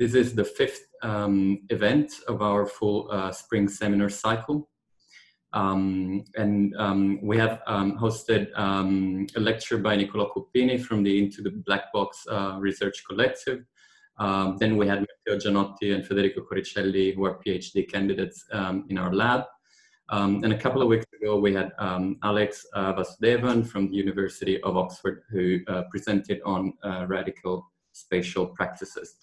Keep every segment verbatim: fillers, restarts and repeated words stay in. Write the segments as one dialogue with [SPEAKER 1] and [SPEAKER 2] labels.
[SPEAKER 1] This is the fifth um, event of our full uh, spring seminar cycle. Um, and um, we have um, hosted um, a lecture by Nicola Coppini from the Into the Black Box uh, Research Collective. Um, then we had Matteo Gianotti and Federico Coricelli, who are PhD candidates um, in our lab. Um, and a couple of weeks ago, we had um, Alex uh, Vasudevan from the University of Oxford, who uh, presented on uh, radical spatial practices.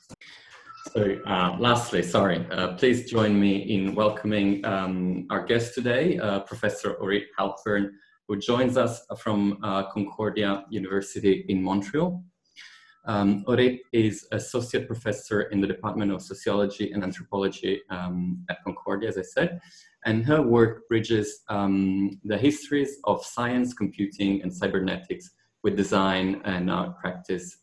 [SPEAKER 1] So uh, lastly, sorry, uh, please join me in welcoming um, our guest today, uh, Professor Orit Halpern, who joins us from uh, Concordia University in Montreal. Um, Orit is Associate Professor in the Department of Sociology and Anthropology um, at Concordia, as I said, and her work bridges um, the histories of science, computing, and cybernetics with design and art practice.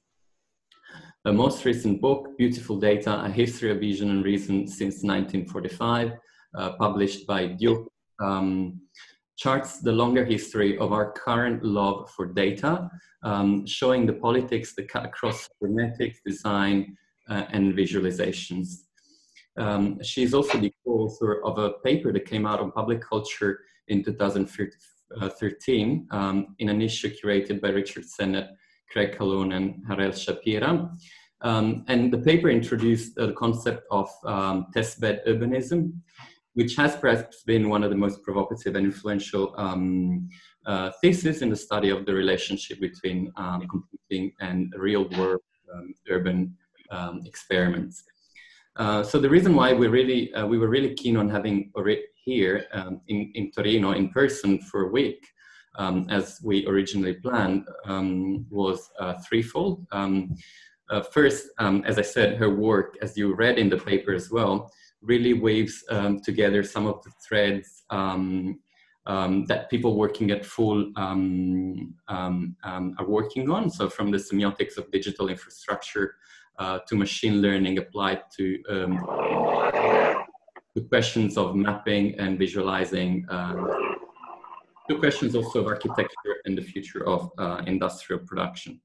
[SPEAKER 1] Her most recent book, Beautiful Data, A History of Vision and Reason Since nineteen forty-five, uh, published by Duke, um, charts the longer history of our current love for data, um, showing the politics that cut across cybernetics, design, uh, and visualizations. Um, she is also the co-author of a paper that came out on public culture in two thousand thirteen um, in an issue curated by Richard Sennett, Craig Calhoun, and Harel Shapira. Um, and the paper introduced uh, the concept of um, testbed urbanism, which has perhaps been one of the most provocative and influential um, uh, theses in the study of the relationship between um, computing and real-world um, urban um, experiments. Uh, so the reason why we really uh, we were really keen on having Orit here um, in, in Torino in person for a week, um, as we originally planned, um, was uh, threefold. Um, uh, first, um, as I said, her work, as you read in the paper as well, really weaves um, together some of the threads um, um, that people working at Full um, um, um, are working on. So from the semiotics of digital infrastructure uh, to machine learning applied to, um, to questions of mapping and visualizing, um, to questions also of architecture and the future of uh, industrial production.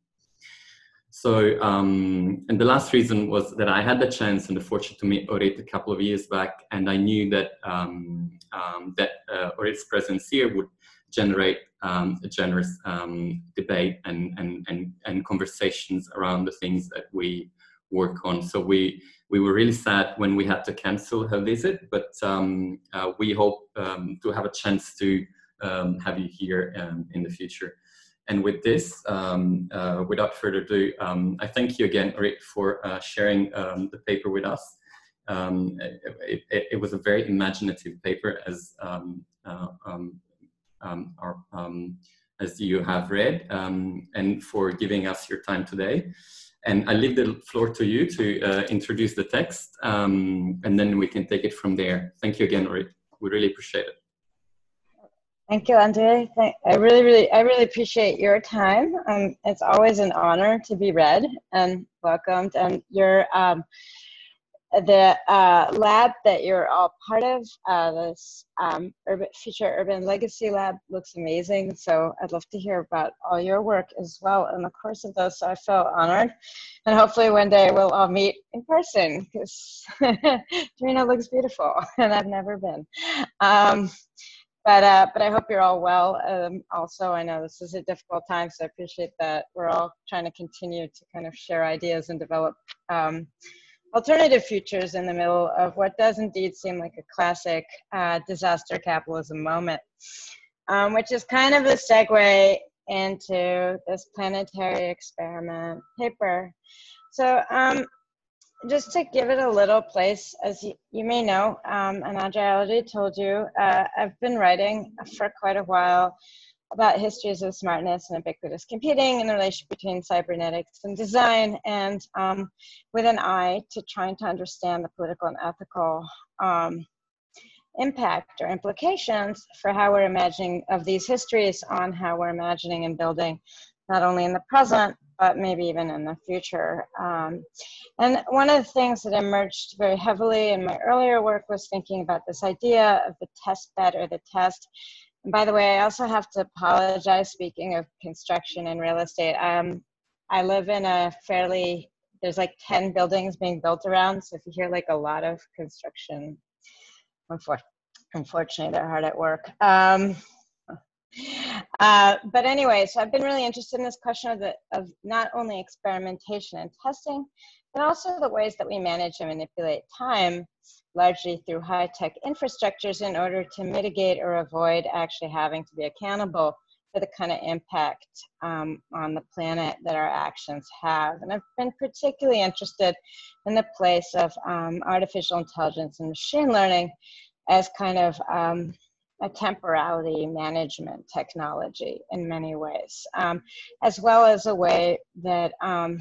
[SPEAKER 1] So, um, and the last reason was that I had the chance and the fortune to meet Orit a couple of years back, and I knew that um, um, that uh, Orit's presence here would generate um, a generous um, debate and, and and and conversations around the things that we work on. So we we were really sad when we had to cancel her visit, but um, uh, we hope um, to have a chance to um, have you here um, in the future. And with this, um, uh, without further ado, um, I thank you again, Orit, for uh, sharing um, the paper with us. Um, it, it, it was a very imaginative paper, as um, uh, um, um, our, um, as you have read, um, and for giving us your time today. And I leave the floor to you to uh, introduce the text, um, and then we can take it from there. Thank you again, Orit. We really appreciate it.
[SPEAKER 2] Thank you, Andre. Thank, I really, really, I really appreciate your time. Um, it's always an honor to be read and welcomed. And your um, the uh, lab that you're all part of, uh, this um, urban, Future Urban Legacy Lab, looks amazing. So I'd love to hear about all your work as well in the course of this. So I feel honored, and hopefully one day we'll all meet in person, because Torino looks beautiful, and I've never been. Um, But, uh, but I hope you're all well. Um, also, I know this is a difficult time, so I appreciate that we're all trying to continue to kind of share ideas and develop um, alternative futures in the middle of what does indeed seem like a classic uh, disaster capitalism moment, um, which is kind of a segue into this planetary experiment paper. So, um, just to give it a little place, as you, you may know, um, and Andre already told you, uh, I've been writing for quite a while about histories of smartness and ubiquitous computing and the relationship between cybernetics and design, and um, with an eye to trying to understand the political and ethical um, impact or implications for how we're imagining of these histories on how we're imagining and building, not only in the present, but maybe even in the future. Um, and one of the things that emerged very heavily in my earlier work was thinking about this idea of the test bed or the test. And by the way, I also have to apologize, speaking of construction and real estate. Um, I live in a fairly there's like ten buildings being built around. So if you hear like a lot of construction, unfor- unfortunately, they're hard at work. Um, uh, but anyway, so I've been really interested in this question of, the, of not only experimentation and testing, but also the ways that we manage and manipulate time, largely through high-tech infrastructures in order to mitigate or avoid actually having to be accountable for the kind of impact um, on the planet that our actions have. And I've been particularly interested in the place of um, artificial intelligence and machine learning as kind of um, a temporality management technology in many ways, um, as well as a way that um,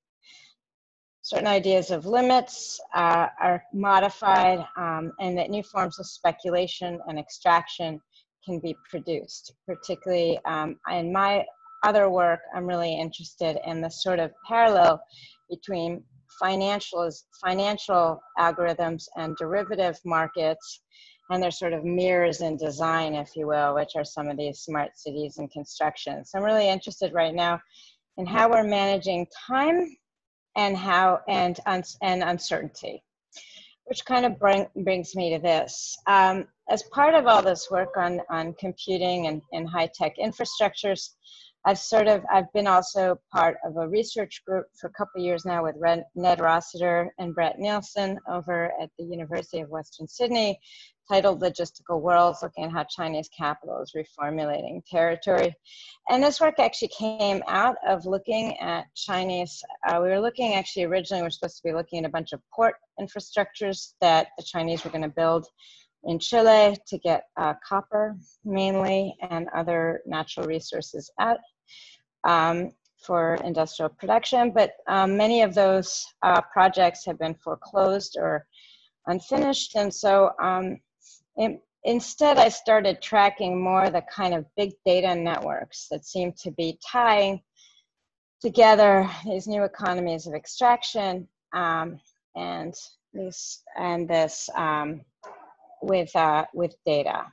[SPEAKER 2] certain ideas of limits uh, are modified um, and that new forms of speculation and extraction can be produced. Particularly um, in my other work, I'm really interested in the sort of parallel between financial, financial algorithms and derivative markets, and they're sort of mirrors in design, if you will, which are some of these smart cities and construction. So I'm really interested right now in how we're managing time and how and and uncertainty, which kind of bring, brings me to this. Um, as part of all this work on, on computing and, and high-tech infrastructures, I've sort of, I've been also part of a research group for a couple of years now with Red, Ned Rossiter and Brett Nielsen over at the University of Western Sydney, titled Logistical Worlds, looking at how Chinese capital is reformulating territory. And this work actually came out of looking at Chinese, uh, we were looking actually originally, we were supposed to be looking at a bunch of port infrastructures that the Chinese were gonna build in Chile to get uh, copper mainly and other natural resources out um, for industrial production. But um, many of those uh, projects have been foreclosed or unfinished. And so um, in, instead, I started tracking more the kind of big data networks that seem to be tying together these new economies of extraction um, and this and this um, with uh, with data.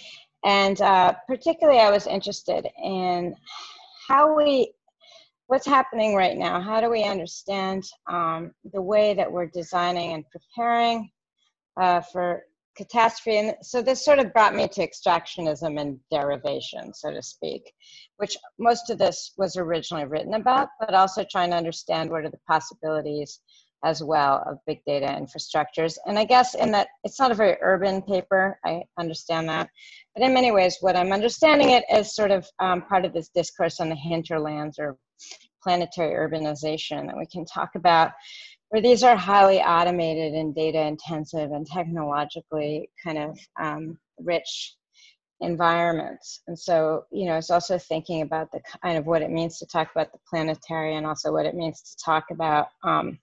[SPEAKER 2] And uh, particularly, I was interested in how we, what's happening right now. How do we understand um, the way that we're designing and preparing uh, for catastrophe? And so this sort of brought me to extractionism and derivation, so to speak, which most of this was originally written about, but also trying to understand what are the possibilities as well of big data infrastructures. And I guess in that, it's not a very urban paper, I understand that, but in many ways, what I'm understanding it as sort of um, part of this discourse on the hinterlands or planetary urbanization that we can talk about, where these are highly automated and data intensive and technologically kind of um, rich environments. And so, you know, it's also thinking about the kind of what it means to talk about the planetary and also what it means to talk about um,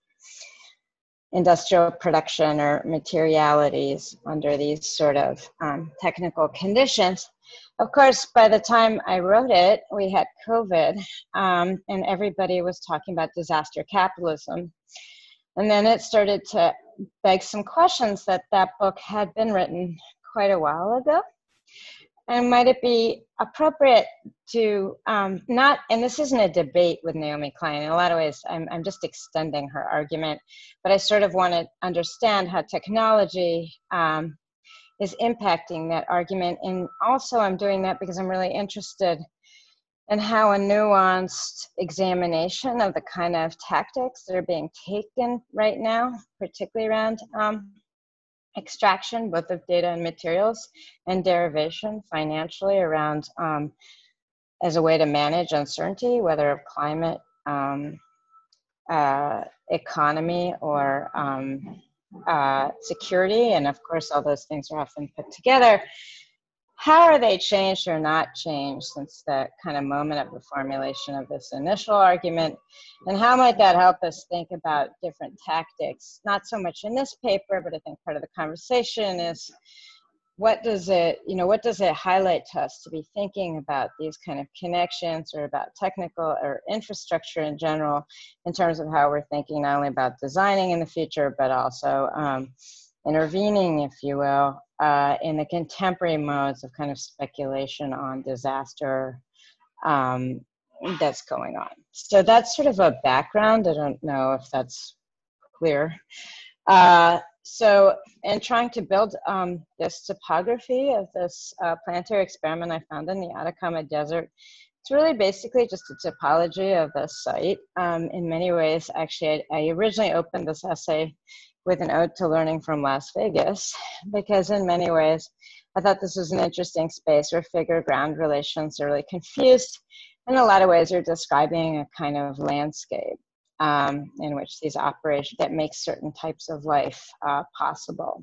[SPEAKER 2] industrial production or materialities under these sort of um, technical conditions. Of course, by the time I wrote it, we had COVID um, and everybody was talking about disaster capitalism. And then it started to beg some questions that that book had been written quite a while ago. And might it be appropriate to um, not, and this isn't a debate with Naomi Klein, in a lot of ways, I'm, I'm just extending her argument, but I sort of want to understand how technology um, is impacting that argument. And also I'm doing that because I'm really interested in how a nuanced examination of the kind of tactics that are being taken right now, particularly around um, extraction, both of data and materials, and derivation financially around um, as a way to manage uncertainty, whether of climate, um, uh, economy, or um, uh, security. And of course, all those things are often put together. How are they changed or not changed since the kind of moment of the formulation of this initial argument? And how might that help us think about different tactics? Not so much in this paper, but I think part of the conversation is what does it, you know, what does it highlight to us to be thinking about these kind of connections or about technical or infrastructure in general in terms of how we're thinking not only about designing in the future, but also um, intervening, if you will, uh, in the contemporary modes of kind of speculation on disaster um, that's going on. So that's sort of a background. I don't know if that's clear. Uh, so in trying to build um, this topography of this uh, planetary experiment I found in the Atacama Desert, it's really basically just a topology of the site. Um, in many ways, actually, I, I originally opened this essay with an ode to learning from Las Vegas, because in many ways, I thought this was an interesting space where figure-ground relations are really confused. In a lot of ways, you're describing a kind of landscape um, in which these operations that make certain types of life uh, possible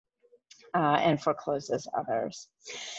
[SPEAKER 2] uh, and forecloses others.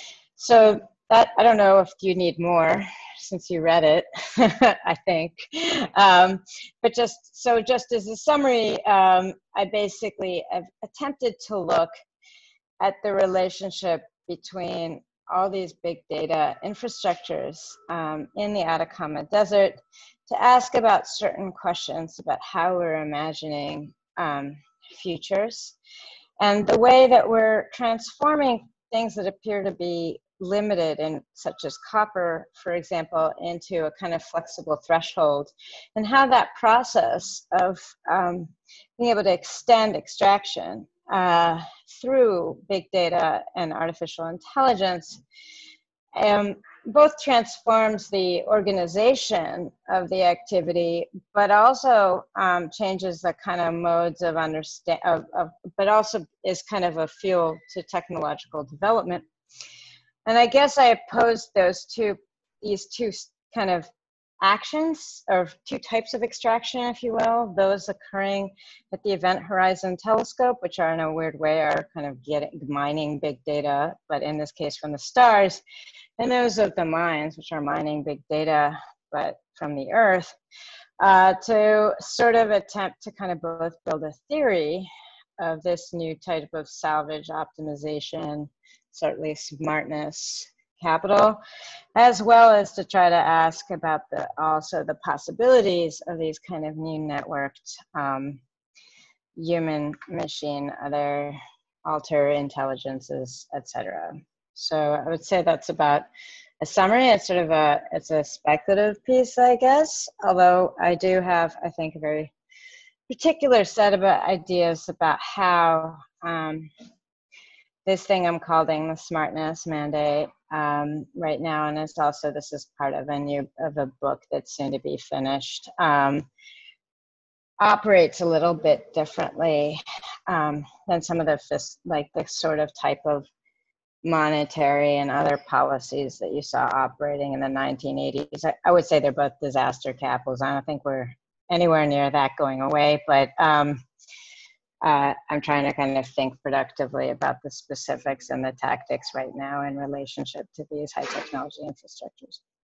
[SPEAKER 2] So that, I don't know if you need more since you read it, I think. Um, but just, so just as a summary, um, I basically have attempted to look at the relationship between all these big data infrastructures um, in the Atacama Desert to ask about certain questions about how we're imagining um, futures and the way that we're transforming things that appear to be limited, in such as copper, for example, into a kind of flexible threshold, and how that process of um, being able to extend extraction uh, through big data and artificial intelligence um, both transforms the organization of the activity, but also um, changes the kind of modes of understand, of, of, but also is kind of a fuel to technological development. And I guess I opposed those two, these two kind of actions, or two types of extraction, if you will, those occurring at the Event Horizon Telescope, which are in a weird way are kind of getting mining big data, but in this case from the stars, and those of the mines, which are mining big data, but from the Earth, uh, to sort of attempt to kind of both build a theory of this new type of salvage optimization, certainly smartness capital, as well as to try to ask about the also the possibilities of these kind of new networked um, human machine, other alter intelligences, et cetera. So I would say that's about a summary. It's sort of a, it's a speculative piece, I guess, although I do have, I think, a very particular set of ideas about how um, this thing I'm calling the smartness mandate um, right now, and it's also, this is part of a new, of a book that's soon to be finished, um, operates a little bit differently um, than some of the, like the sort of type of monetary and other policies that you saw operating in the nineteen eighties. I, I would say they're both disaster capitals. I don't think we're anywhere near that going away, but um, uh, I'm trying to kind of think productively about the specifics and the tactics right now in relationship to these high technology infrastructures.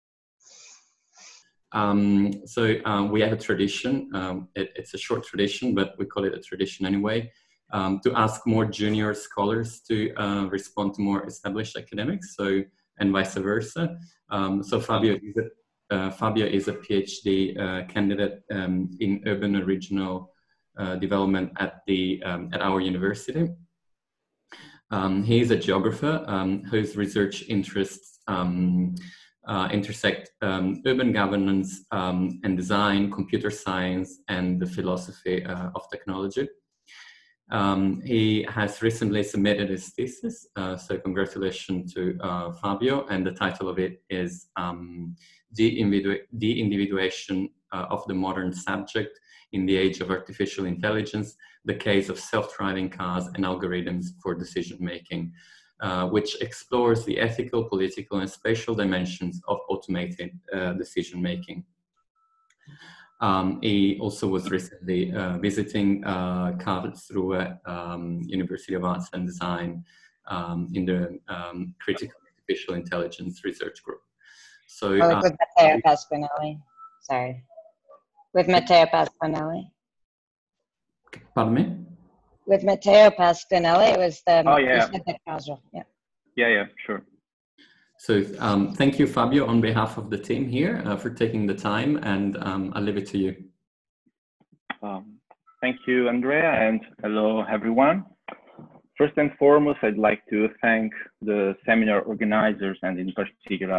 [SPEAKER 1] Um, so um, we have a tradition, um, it, it's a short tradition, but we call it a tradition anyway, um, to ask more junior scholars to uh, respond to more established academics, so, and vice versa. Um, so Fabio is a, uh, Fabio is a PhD uh, candidate um, in urban and regional uh, development at, the, um, at our university. Um, he is a geographer um, whose research interests um, Uh, intersect um, urban governance um, and design, computer science, and the philosophy uh, of technology. Um, he has recently submitted his thesis, uh, so congratulations to uh, Fabio, and the title of it is um, De-Individuation uh, of the Modern Subject in the Age of Artificial Intelligence, the Case of Self-Driving Cars and Algorithms for Decision-Making. Uh, which explores the ethical, political, and spatial dimensions of automated uh, decision-making. Um, he also was recently uh, visiting uh, Karlsruhe um, University of Arts and Design um, in the um, Critical Artificial Intelligence Research Group. So,
[SPEAKER 2] oh,
[SPEAKER 1] uh,
[SPEAKER 2] with Matteo Pasquinelli, sorry. With Matteo Pasquinelli.
[SPEAKER 1] Pardon me?
[SPEAKER 2] With Matteo Pasquinelli, it was the,
[SPEAKER 3] oh, yeah.
[SPEAKER 2] yeah.
[SPEAKER 3] Yeah, yeah, sure.
[SPEAKER 1] So um, thank you, Fabio, on behalf of the team here uh, for taking the time, and um, I'll leave it to you.
[SPEAKER 3] Um, thank you, Andrea, and hello, everyone. First and foremost, I'd like to thank the seminar organizers, and in particular,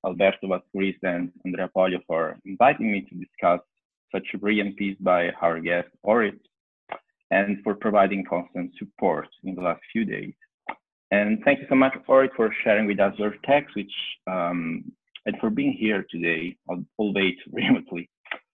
[SPEAKER 3] Alberto Vasquez and Andrea Poglio for inviting me to discuss such a brilliant piece by our guest, Orit, and for providing constant support in the last few days. And thank you so much, Orit, for sharing with us your text, which um, and for being here today, albeit remotely.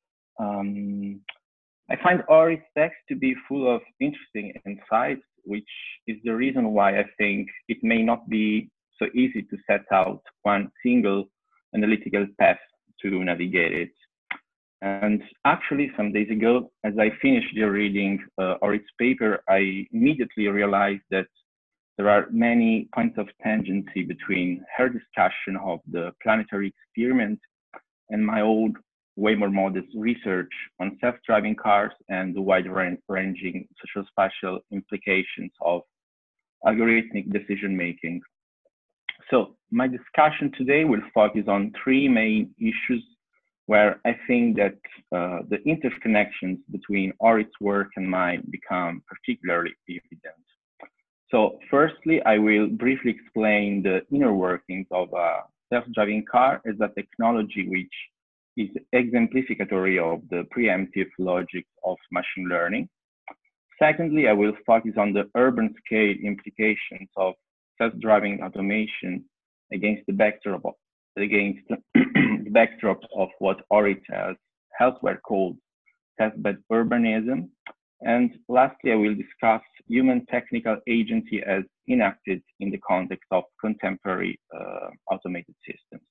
[SPEAKER 3] Um, I find Orit's text to be full of interesting insights, which is the reason why I think it may not be so easy to set out one single analytical path to navigate it. And actually, some days ago, as I finished the reading uh, Orit's paper, I immediately realized that there are many points of tangency between her discussion of the planetary experiment and my old, way more modest research on self-driving cars and the wide-ranging social-spatial implications of algorithmic decision-making. So my discussion today will focus on three main issues where I think that uh, the interconnections between Orit's work and mine become particularly evident. So firstly, I will briefly explain the inner workings of a self-driving car as a technology which is exemplificatory of the preemptive logic of machine learning. Secondly, I will focus on the urban scale implications of self-driving automation against the backdrop of, against the backdrop of what Orit has elsewhere called testbed urbanism. And lastly, I will discuss human technical agency as enacted in the context of contemporary uh, automated systems.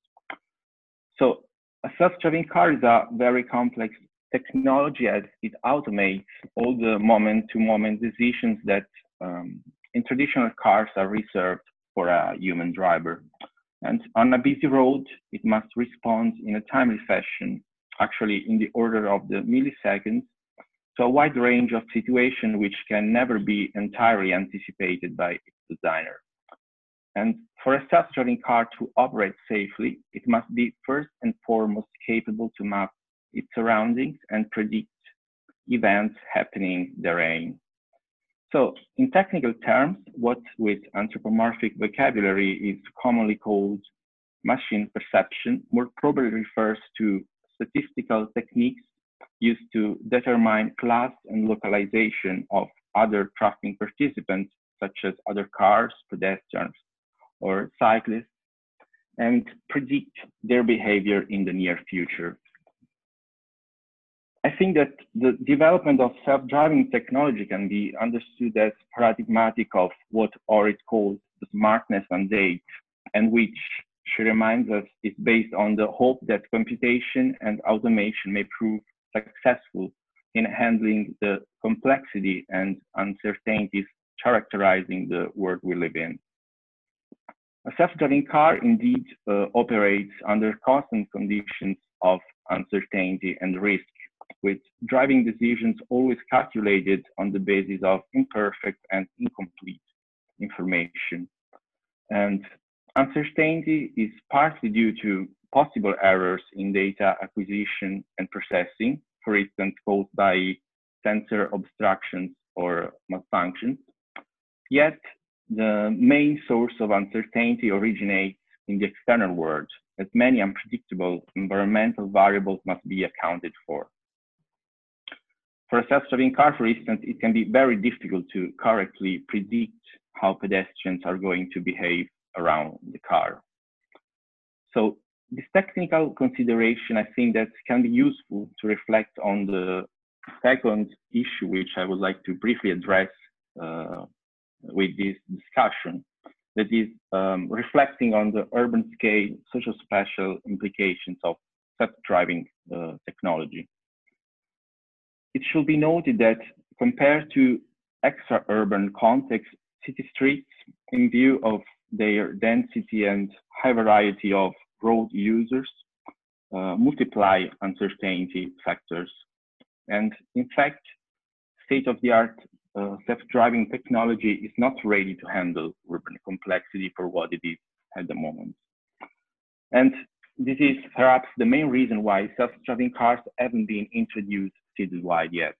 [SPEAKER 3] So a self-driving car is a very complex technology as it automates all the moment-to-moment decisions that um, in traditional cars are reserved for a human driver. And on a busy road, it must respond in a timely fashion, actually in the order of the milliseconds, to a wide range of situations which can never be entirely anticipated by its designer. And for a self-driving car to operate safely, it must be first and foremost capable to map its surroundings and predict events happening therein. So in technical terms, what with anthropomorphic vocabulary is commonly called machine perception more probably refers to statistical techniques used to determine class and localization of other traffic participants, such as other cars, pedestrians, or cyclists, and predict their behavior in the near future. I think that the development of self-driving technology can be understood as paradigmatic of what Orit calls the smartness mandate, and which, she reminds us, is based on the hope that computation and automation may prove successful in handling the complexity and uncertainties characterizing the world we live in. A self-driving car indeed uh, operates under constant conditions of uncertainty and risk, with driving decisions always calculated on the basis of imperfect and incomplete information. And uncertainty is partly due to possible errors in data acquisition and processing, for instance, caused by sensor obstructions or malfunctions. Yet, the main source of uncertainty originates in the external world, as many unpredictable environmental variables must be accounted for. For a self-driving car, for instance, it can be very difficult to correctly predict how pedestrians are going to behave around the car. So this technical consideration, I think that can be useful to reflect on the second issue, which I would like to briefly address uh, with this discussion, that is um, reflecting on the urban scale social spatial implications of self-driving uh, technology. It should be noted that compared to extra-urban contexts, city streets, in view of their density and high variety of road users, uh, multiply uncertainty factors. And in fact, state-of-the-art uh, self-driving technology is not ready to handle urban complexity for what it is at the moment. And this is perhaps the main reason why self-driving cars haven't been introduced citywide yet,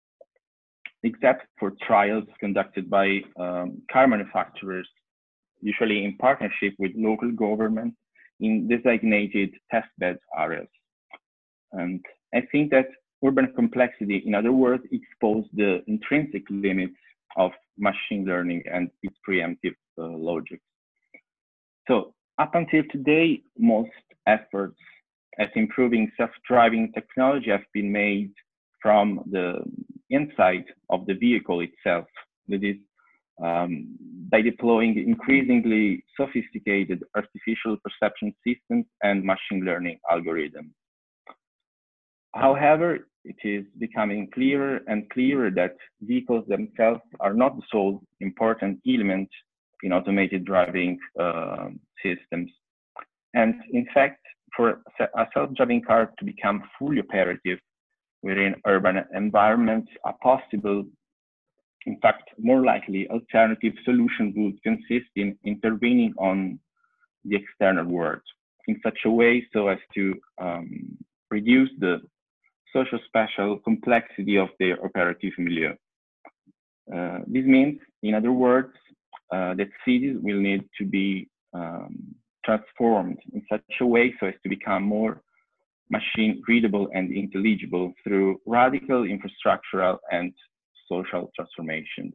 [SPEAKER 3] except for trials conducted by um, car manufacturers, usually in partnership with local governments in designated testbed areas. And I think that urban complexity, in other words, exposes the intrinsic limits of machine learning and its preemptive uh, logic. So up until today, most efforts at improving self-driving technology have been made from the inside of the vehicle itself. That is, um, by deploying increasingly sophisticated artificial perception systems and machine learning algorithms. However, it is becoming clearer and clearer that vehicles themselves are not the sole important element in automated driving uh, systems. And in fact, for a self-driving car to become fully operative within urban environments, a possible, in fact, more likely alternative solution would consist in intervening on the external world in such a way so as to um, reduce the socio-spatial complexity of their operative milieu. Uh, this means, in other words, uh, that cities will need to be um, transformed in such a way so as to become more machine readable and intelligible through radical infrastructural and social transformations.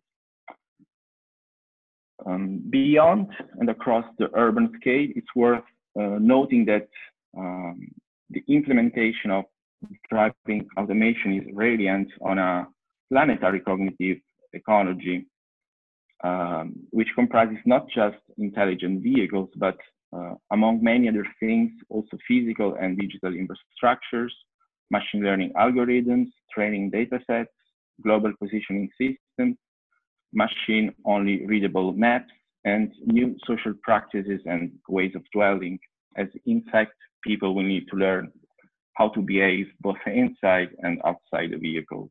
[SPEAKER 3] Um, beyond and across the urban scale, it's worth uh, noting that um, the implementation of driving automation is reliant on a planetary cognitive ecology, um, which comprises not just intelligent vehicles, but uh, among many other things, also physical and digital infrastructures, machine learning algorithms, training datasets, global positioning systems, machine-only readable maps, and new social practices and ways of dwelling, as in fact, people will need to learn how to behave both inside and outside the vehicles.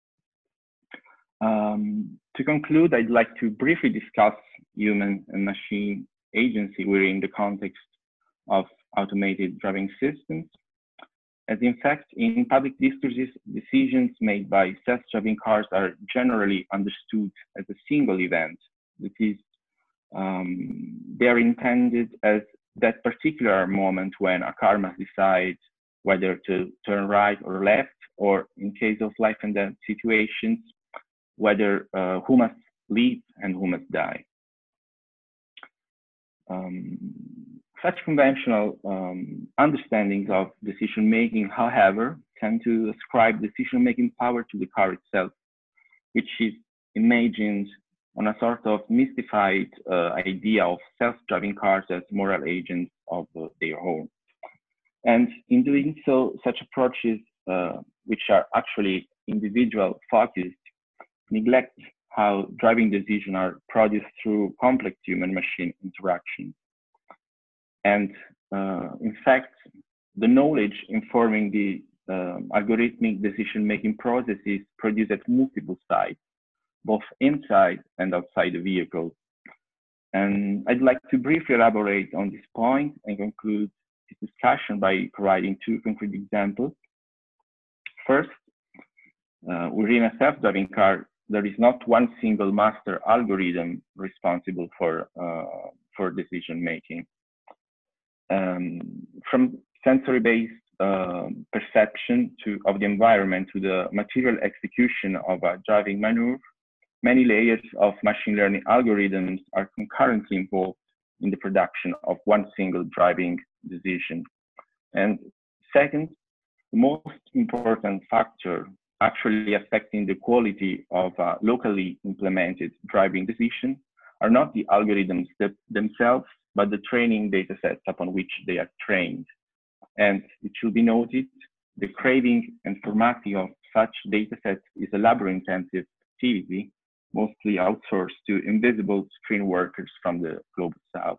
[SPEAKER 3] Um, to conclude, I'd like to briefly discuss human and machine agency within the context of automated driving systems. As in fact, in public discourses, decisions made by self-driving cars are generally understood as a single event. That is, um, they are intended as that particular moment when a car must decide whether to turn right or left, or in case of life and death situations, whether uh, who must live and who must die. Um, such conventional um, understandings of decision-making, however, tend to ascribe decision-making power to the car itself, which is imagined on a sort of mystified uh, idea of self-driving cars as moral agents of uh, their own. And in doing so, such approaches, uh, which are actually individual focused, neglect how driving decisions are produced through complex human-machine interactions. And uh, in fact, the knowledge informing the um, algorithmic decision-making processes produced at multiple sites, both inside and outside the vehicle. And I'd like to briefly elaborate on this point and conclude this discussion by providing two concrete examples. First, uh, within a self-driving car, there is not one single master algorithm responsible for, uh, for decision-making. Um, from sensory-based uh, perception to, of the environment to the material execution of a driving maneuver, many layers of machine learning algorithms are concurrently involved in the production of one single driving decision. And second, the most important factor actually affecting the quality of a locally implemented driving decision are not the algorithms that themselves, but the training data sets upon which they are trained. And it should be noted, the craving and formatting of such data sets is a labor-intensive activity, mostly outsourced to invisible screen workers from the global south.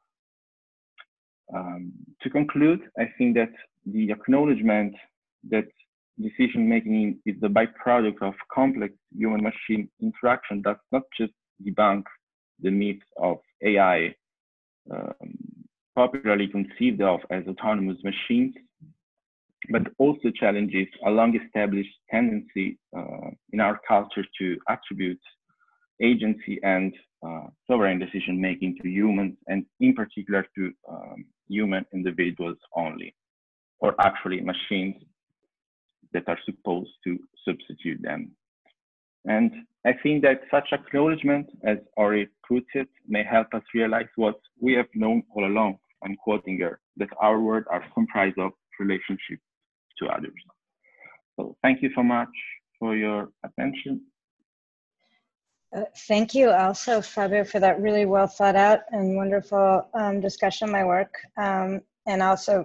[SPEAKER 3] Um, to conclude, I think that the acknowledgement that decision-making is the byproduct of complex human-machine interaction does not just debunk the myth of A I, um, popularly conceived of as autonomous machines, but also challenges a long-established tendency uh, in our culture to attribute agency and uh, sovereign decision-making to humans, and in particular to um, human individuals only, or actually machines that are supposed to substitute them. And I think that such acknowledgement, as Ori puts it, may help us realize what we have known all along. I'm quoting her, that our world are comprised of relationships to others. So thank you so much for your attention.
[SPEAKER 2] Uh, thank you also, Fabio, for that really well thought out and wonderful um, discussion of my work. Um, and also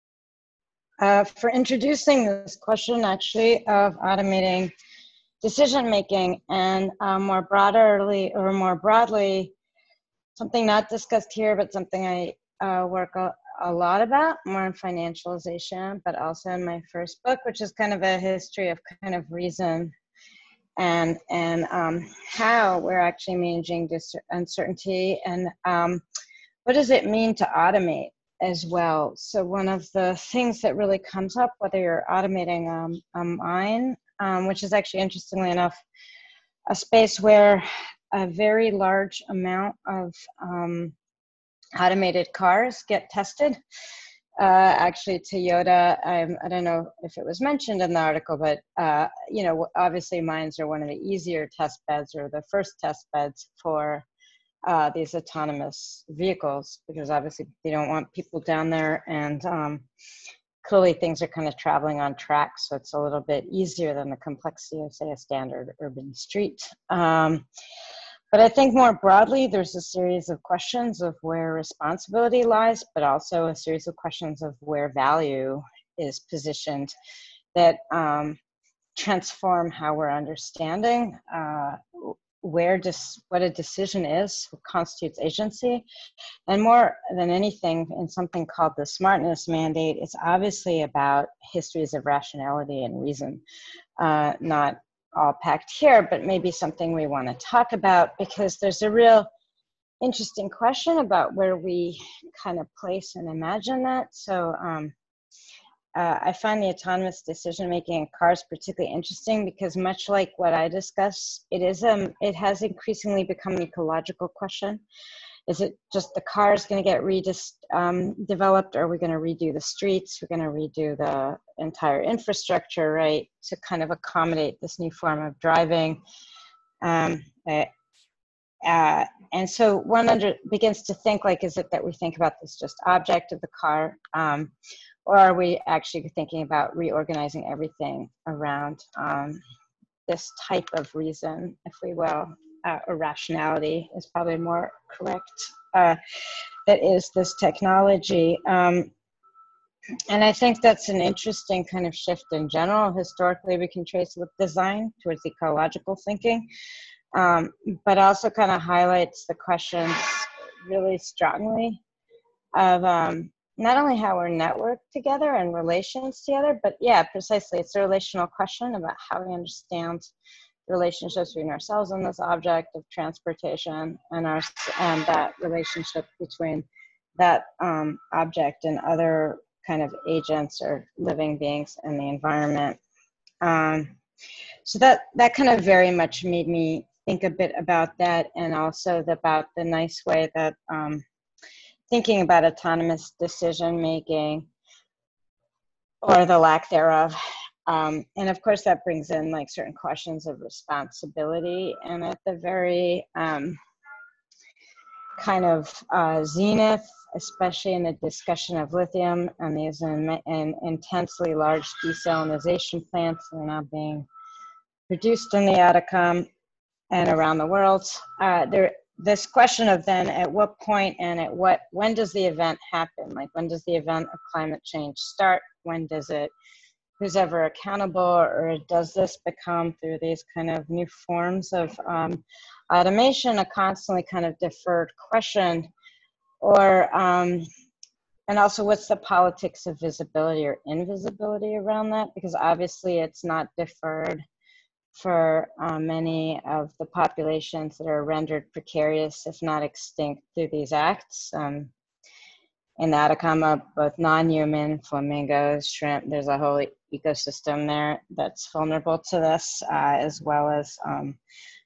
[SPEAKER 2] uh, for introducing this question actually of automating decision-making, and uh, more broadly, or more broadly, something not discussed here, but something I uh, work a, a lot about, more in financialization, but also in my first book, which is kind of a history of kind of reason and and um, how we're actually managing this uncertainty, and um, what does it mean to automate as well. So one of the things that really comes up, whether you're automating um, a mine, um, which is actually, interestingly enough, a space where a very large amount of um, automated cars get tested. Uh, actually, Toyota, I'm, I don't know if it was mentioned in the article, but, uh, you know, obviously mines are one of the easier test beds, or the first test beds for uh, these autonomous vehicles, because obviously they don't want people down there, and um, clearly things are kind of traveling on tracks, so it's a little bit easier than the complexity of, say, a standard urban street. Um, But I think more broadly, there's a series of questions of where responsibility lies, but also a series of questions of where value is positioned that um, transform how we're understanding uh, where dis- what a decision is, what constitutes agency. And more than anything, in something called the smartness mandate, it's obviously about histories of rationality and reason, uh, not all packed here, but maybe something we want to talk about, because there's a real interesting question about where we kind of place and imagine that. So um, uh, I find the autonomous decision-making in cars particularly interesting, because much like what I discuss, it is um, it has increasingly become an ecological question. Is it just the car is going to get redeveloped, um, developed, or are we going to redo the streets? We're going to redo the entire infrastructure, right, to kind of accommodate this new form of driving. Um, uh, uh, and so one under, begins to think, like, is it that we think about this just object of the car, um, or are we actually thinking about reorganizing everything around um, this type of reason, if we will? Uh, or rationality is probably more correct, uh, that is this technology. Um, and I think that's an interesting kind of shift in general. Historically, we can trace with design towards ecological thinking, um, but also kind of highlights the questions really strongly of um, not only how we're networked together and relations together, but yeah, precisely, it's a relational question about how we understand relationships between ourselves and this object of transportation, and our and that relationship between that um, object and other kind of agents or living beings in the environment. Um, so that that kind of very much made me think a bit about that, and also the, about the nice way that um, thinking about autonomous decision making, or the lack thereof. Um, and of course, that brings in like certain questions of responsibility. And at the very um, kind of uh, zenith, especially in the discussion of lithium and these in, in intensely large desalination plants that are now being produced in the Atacama and around the world, uh, there, this question of then at what point and at what, when does the event happen? Like, when does the event of climate change start? When does it, who's ever accountable, or does this become, through these kind of new forms of um, automation, a constantly kind of deferred question? Or, um, and also what's the politics of visibility or invisibility around that? Because obviously it's not deferred for uh, many of the populations that are rendered precarious, if not extinct, through these acts. Um, in the Atacama, both non-human, flamingos, shrimp, there's a whole ecosystem there that's vulnerable to this, uh, as well as um,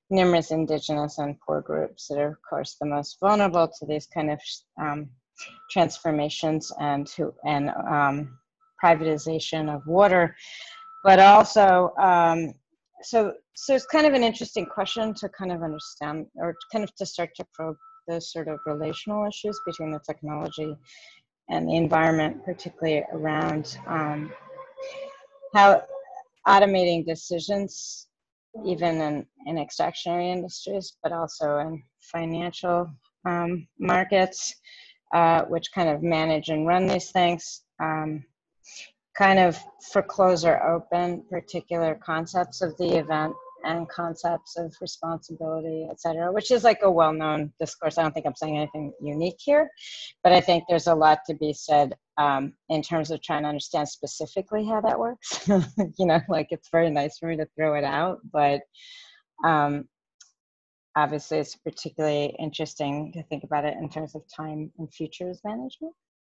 [SPEAKER 2] numerous indigenous and poor groups that are, of course, the most vulnerable to these kind of um, transformations and who and um, privatization of water, but also um, so so it's kind of an interesting question to kind of understand, or kind of to start to probe the sort of relational issues between the technology and the environment, particularly around um, how automating decisions, even in, in extractionary industries, but also in financial um, markets, uh, which kind of manage and run these things, um, kind of foreclose or open particular concepts of the event and concepts of responsibility, et cetera, which is like a well-known discourse. I don't think I'm saying anything unique here, but I think there's a lot to be said um, in terms of trying to understand specifically how that works. You know, like it's very nice for me to throw it out, but um, obviously it's particularly interesting to think about it in terms of time and futures management.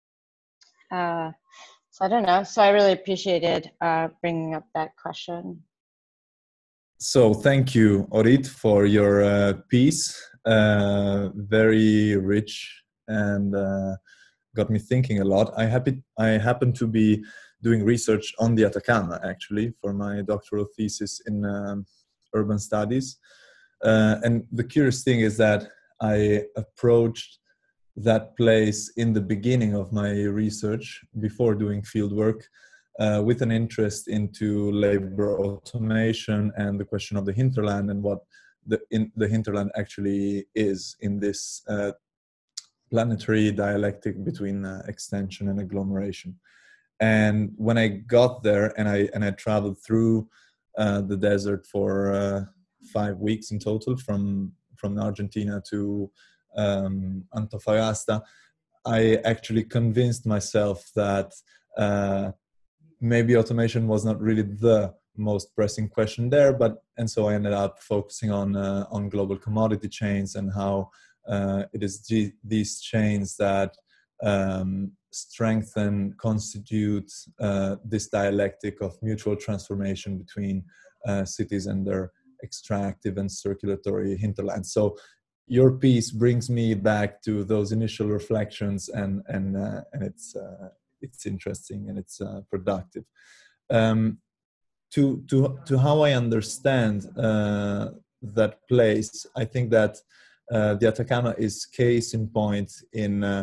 [SPEAKER 2] Uh, so I don't know. So I really appreciated uh, bringing up that question.
[SPEAKER 4] So thank you, Orit, for your uh, piece. Uh, very rich and uh, got me thinking a lot. I happy I happen to be doing research on the Atacama, actually, for my doctoral thesis in um, urban studies. Uh, and the curious thing is that I approached that place in the beginning of my research, before doing fieldwork, uh, with an interest into labor automation and the question of the hinterland and what the, in, the hinterland actually is in this uh, planetary dialectic between uh, extension and agglomeration. And when I got there and I and I traveled through uh, the desert for uh, five weeks in total, from from Argentina to um, Antofagasta, I actually convinced myself that uh, maybe automation was not really the most pressing question there, but and so I ended up focusing on uh, on global commodity chains and how uh, it is g- these chains that um, strengthen, constitute uh, this dialectic of mutual transformation between uh, cities and their extractive and circulatory hinterlands. So your piece brings me back to those initial reflections, and and uh, and it's uh, it's interesting and it's uh, productive. Um, to to to how I understand uh, that place, I think that uh, the Atacama is case in point in uh,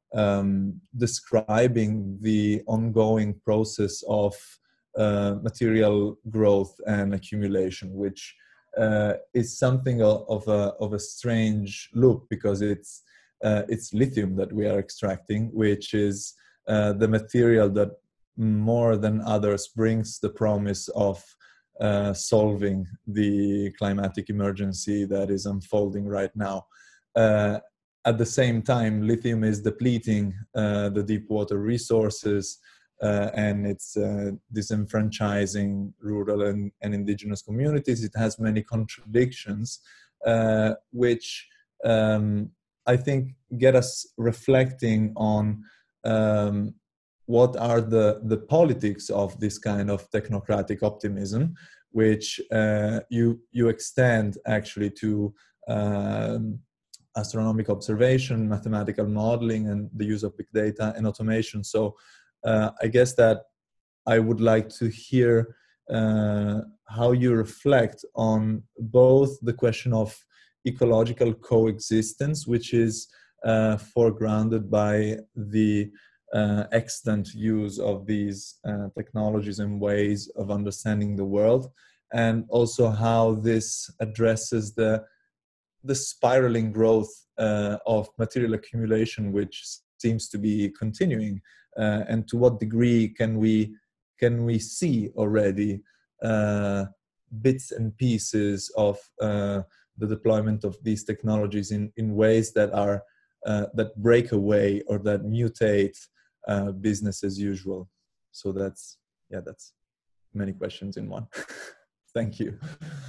[SPEAKER 4] um, describing the ongoing process of uh, material growth and accumulation, which uh, is something of, of a of a strange loop, because it's uh, it's lithium that we are extracting, which is uh, the material that more than others brings the promise of uh, solving the climatic emergency that is unfolding right now. Uh, at the same time, lithium is depleting uh, the deep water resources uh, and it's uh, disenfranchising rural and, and indigenous communities. It has many contradictions, uh, which um, I think get us reflecting on um, what are the, the politics of this kind of technocratic optimism, which uh, you, you extend actually to um, astronomic observation, mathematical modeling, and the use of big data and automation. So uh, I guess that I would like to hear uh, how you reflect on both the question of ecological coexistence, which is uh, foregrounded by the uh, extant use of these uh, technologies and ways of understanding the world, and also how this addresses the the spiraling growth uh, of material accumulation, which seems to be continuing, uh, and to what degree can we can we see already uh, bits and pieces of uh, the deployment of these technologies in, in ways that are uh, that break away or that mutate uh, business as usual. So that's yeah, that's many questions in one. Thank you.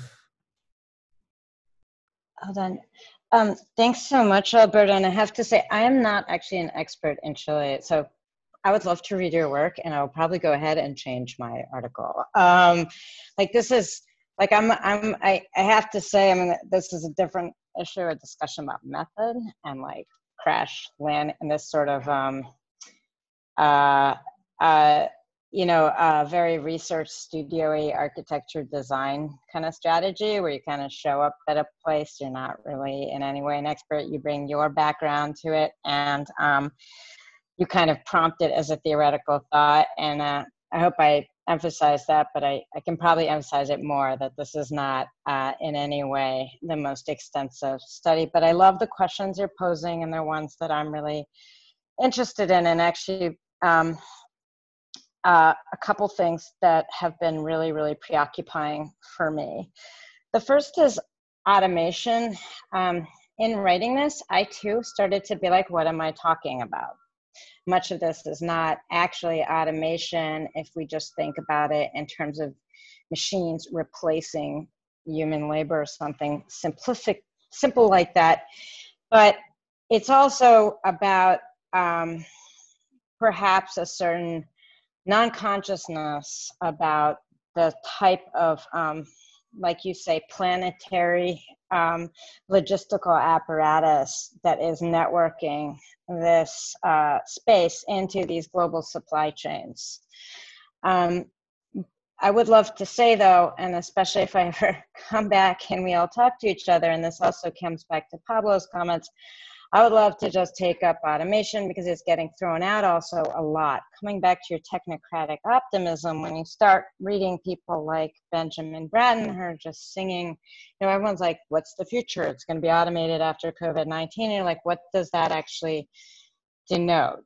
[SPEAKER 2] Hold on. Um, thanks so much, Alberto. And I have to say, I am not actually an expert in Chile. So I would love to read your work, and I'll probably go ahead and change my article. Um, like this is, like I'm, I'm, I, I have to say, I mean, this is a different issue, a discussion about method and like crash land and this sort of, um, uh, uh, you know, uh, very research studio-y architecture design kind of strategy where you kind of show up at a place, you're not really in any way an expert, you bring your background to it, and um, you kind of prompt it as a theoretical thought. And uh, I hope I emphasize that, but I, I can probably emphasize it more, that this is not uh, in any way the most extensive study. But I love the questions you're posing, and they're ones that I'm really interested in. And actually, um, uh, a couple things that have been really, really preoccupying for me. The first is automation. Um, in writing this, I too started to be like, what am I talking about? Much of this is not actually automation if we just think about it in terms of machines replacing human labor or something simplific, simple like that. But it's also about um, perhaps a certain non-consciousness about the type of, um, like you say, planetary um, logistical apparatus that is networking this uh, space into these global supply chains. Um, I would love to say though, and especially if I ever come back and we all talk to each other, and this also comes back to Pablo's comments, I would love to just take up automation because it's getting thrown out also a lot. Coming back to your technocratic optimism, when you start reading people like Benjamin Bratton who are just singing, you know, everyone's like, what's the future? It's going to be automated after COVID nineteen. And you're like, what does that actually denote?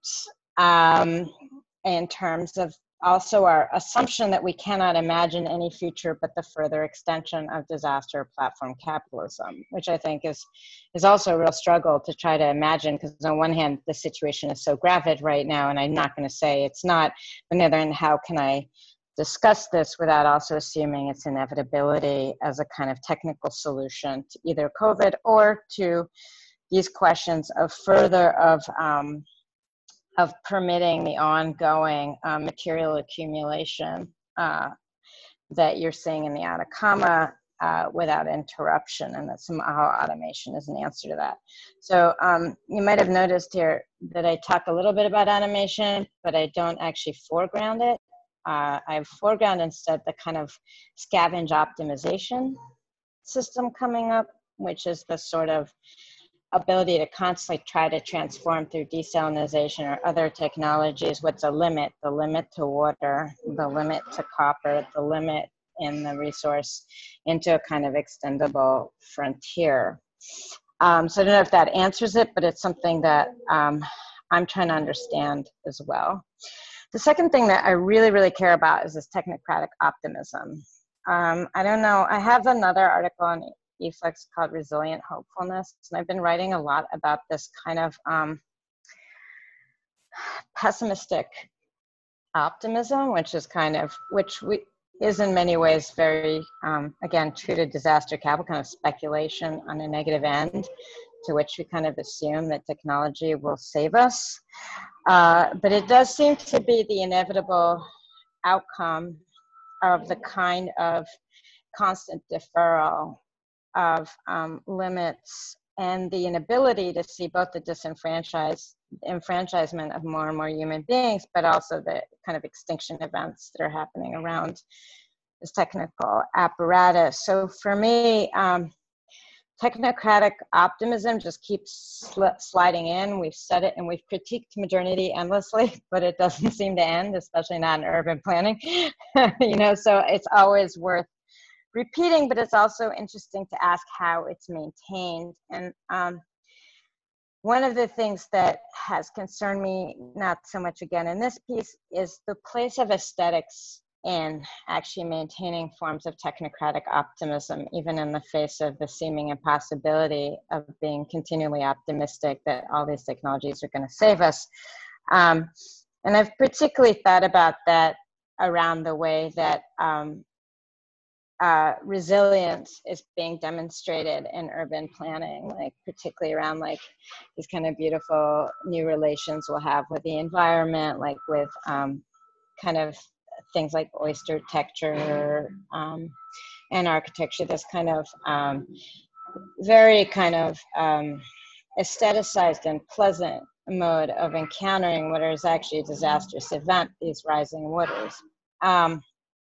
[SPEAKER 2] Um, in terms of also our assumption that we cannot imagine any future but the further extension of disaster platform capitalism, which I think is is also a real struggle to try to imagine, because on one hand, the situation is so graphic right now, and I'm not going to say it's not, but on the other hand, how can I discuss this without also assuming its inevitability as a kind of technical solution to either COVID or to these questions of further of um, of permitting the ongoing uh, material accumulation uh, that you're seeing in the Atacama uh, without interruption, and that somehow automation is an answer to that. So um, you might have noticed here that I talk a little bit about automation, but I don't actually foreground it. Uh, I foreground instead the kind of scavenge optimization system coming up, which is the sort of ability to constantly try to transform through desalination or other technologies what's a limit, the limit to water, the limit to copper, the limit in the resource, into a kind of extendable frontier. Um, so I don't know if that answers it, but it's something that um, I'm trying to understand as well. The second thing that I really, really care about is this technocratic optimism. Um, I don't know, I have another article on eFlex called Resilient Hopefulness, and I've been writing a lot about this kind of um, pessimistic optimism, which is kind of, which we, is in many ways very, um, again, true to disaster capital, kind of speculation on a negative end, to which we kind of assume that technology will save us. Uh, but it does seem to be the inevitable outcome of the kind of constant deferral of um, limits and the inability to see both the disenfranchised enfranchisement of more and more human beings, but also the kind of extinction events that are happening around this technical apparatus. So for me, um, technocratic optimism just keeps sl sliding in. We've said it and we've critiqued modernity endlessly, but it doesn't seem to end, especially not in urban planning. You know, so it's always worth repeating, but it's also interesting to ask how it's maintained. And um, one of the things that has concerned me, not so much again in this piece, is the place of aesthetics in actually maintaining forms of technocratic optimism, even in the face of the seeming impossibility of being continually optimistic that all these technologies are going to save us. Um, and I've particularly thought about that around the way that um, Uh, resilience is being demonstrated in urban planning, like particularly around like these kind of beautiful new relations we'll have with the environment, like with um, kind of things like oyster texture, um, and architecture, this kind of um, very kind of um, aestheticized and pleasant mode of encountering what is actually a disastrous event, these rising waters. Um,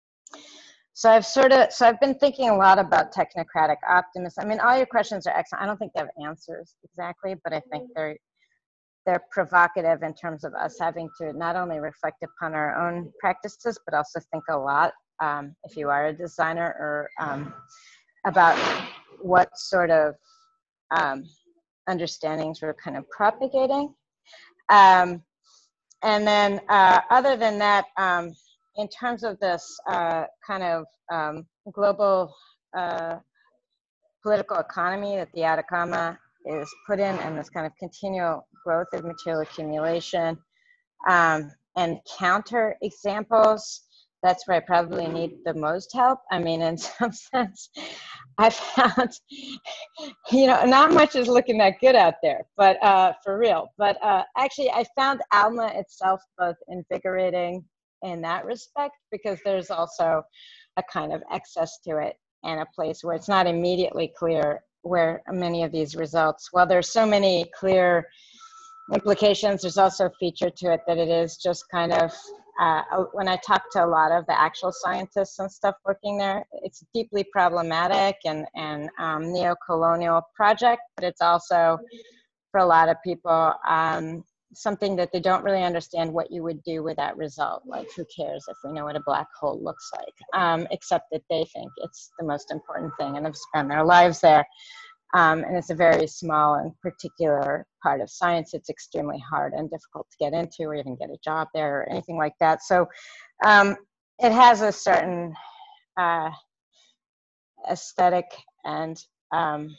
[SPEAKER 2] so I've sort of, so I've been thinking a lot about technocratic optimism. I mean, all your questions are excellent. I don't think they have answers exactly, but I think they're, they're provocative in terms of us having to not only reflect upon our own practices, but also think a lot, um, if you are a designer, or um, about what sort of um, understandings we're kind of propagating. Um, and then uh, other than that, um, in terms of this uh, kind of um, global uh, political economy that the Atacama is put in, and this kind of continual growth of material accumulation, um, and counter examples, that's where I probably need the most help. I mean, in some sense, I found, you know, not much is looking that good out there, but uh, for real. But uh, actually, I found ALMA itself both invigorating in that respect, because there's also a kind of excess to it, and a place where it's not immediately clear where many of these results, well, there's so many clear implications, there's also a feature to it that it is just kind of, uh, when I talk to a lot of the actual scientists and stuff working there, it's deeply problematic and, and um, neo-colonial project, but it's also, for a lot of people, um, something that they don't really understand what you would do with that result. Like, who cares if we know what a black hole looks like, um, except that they think it's the most important thing and have spent their lives there. Um, and it's a very small and particular part of science. It's extremely hard and difficult to get into, or even get a job there, or anything like that. So um, it has a certain uh, aesthetic and um,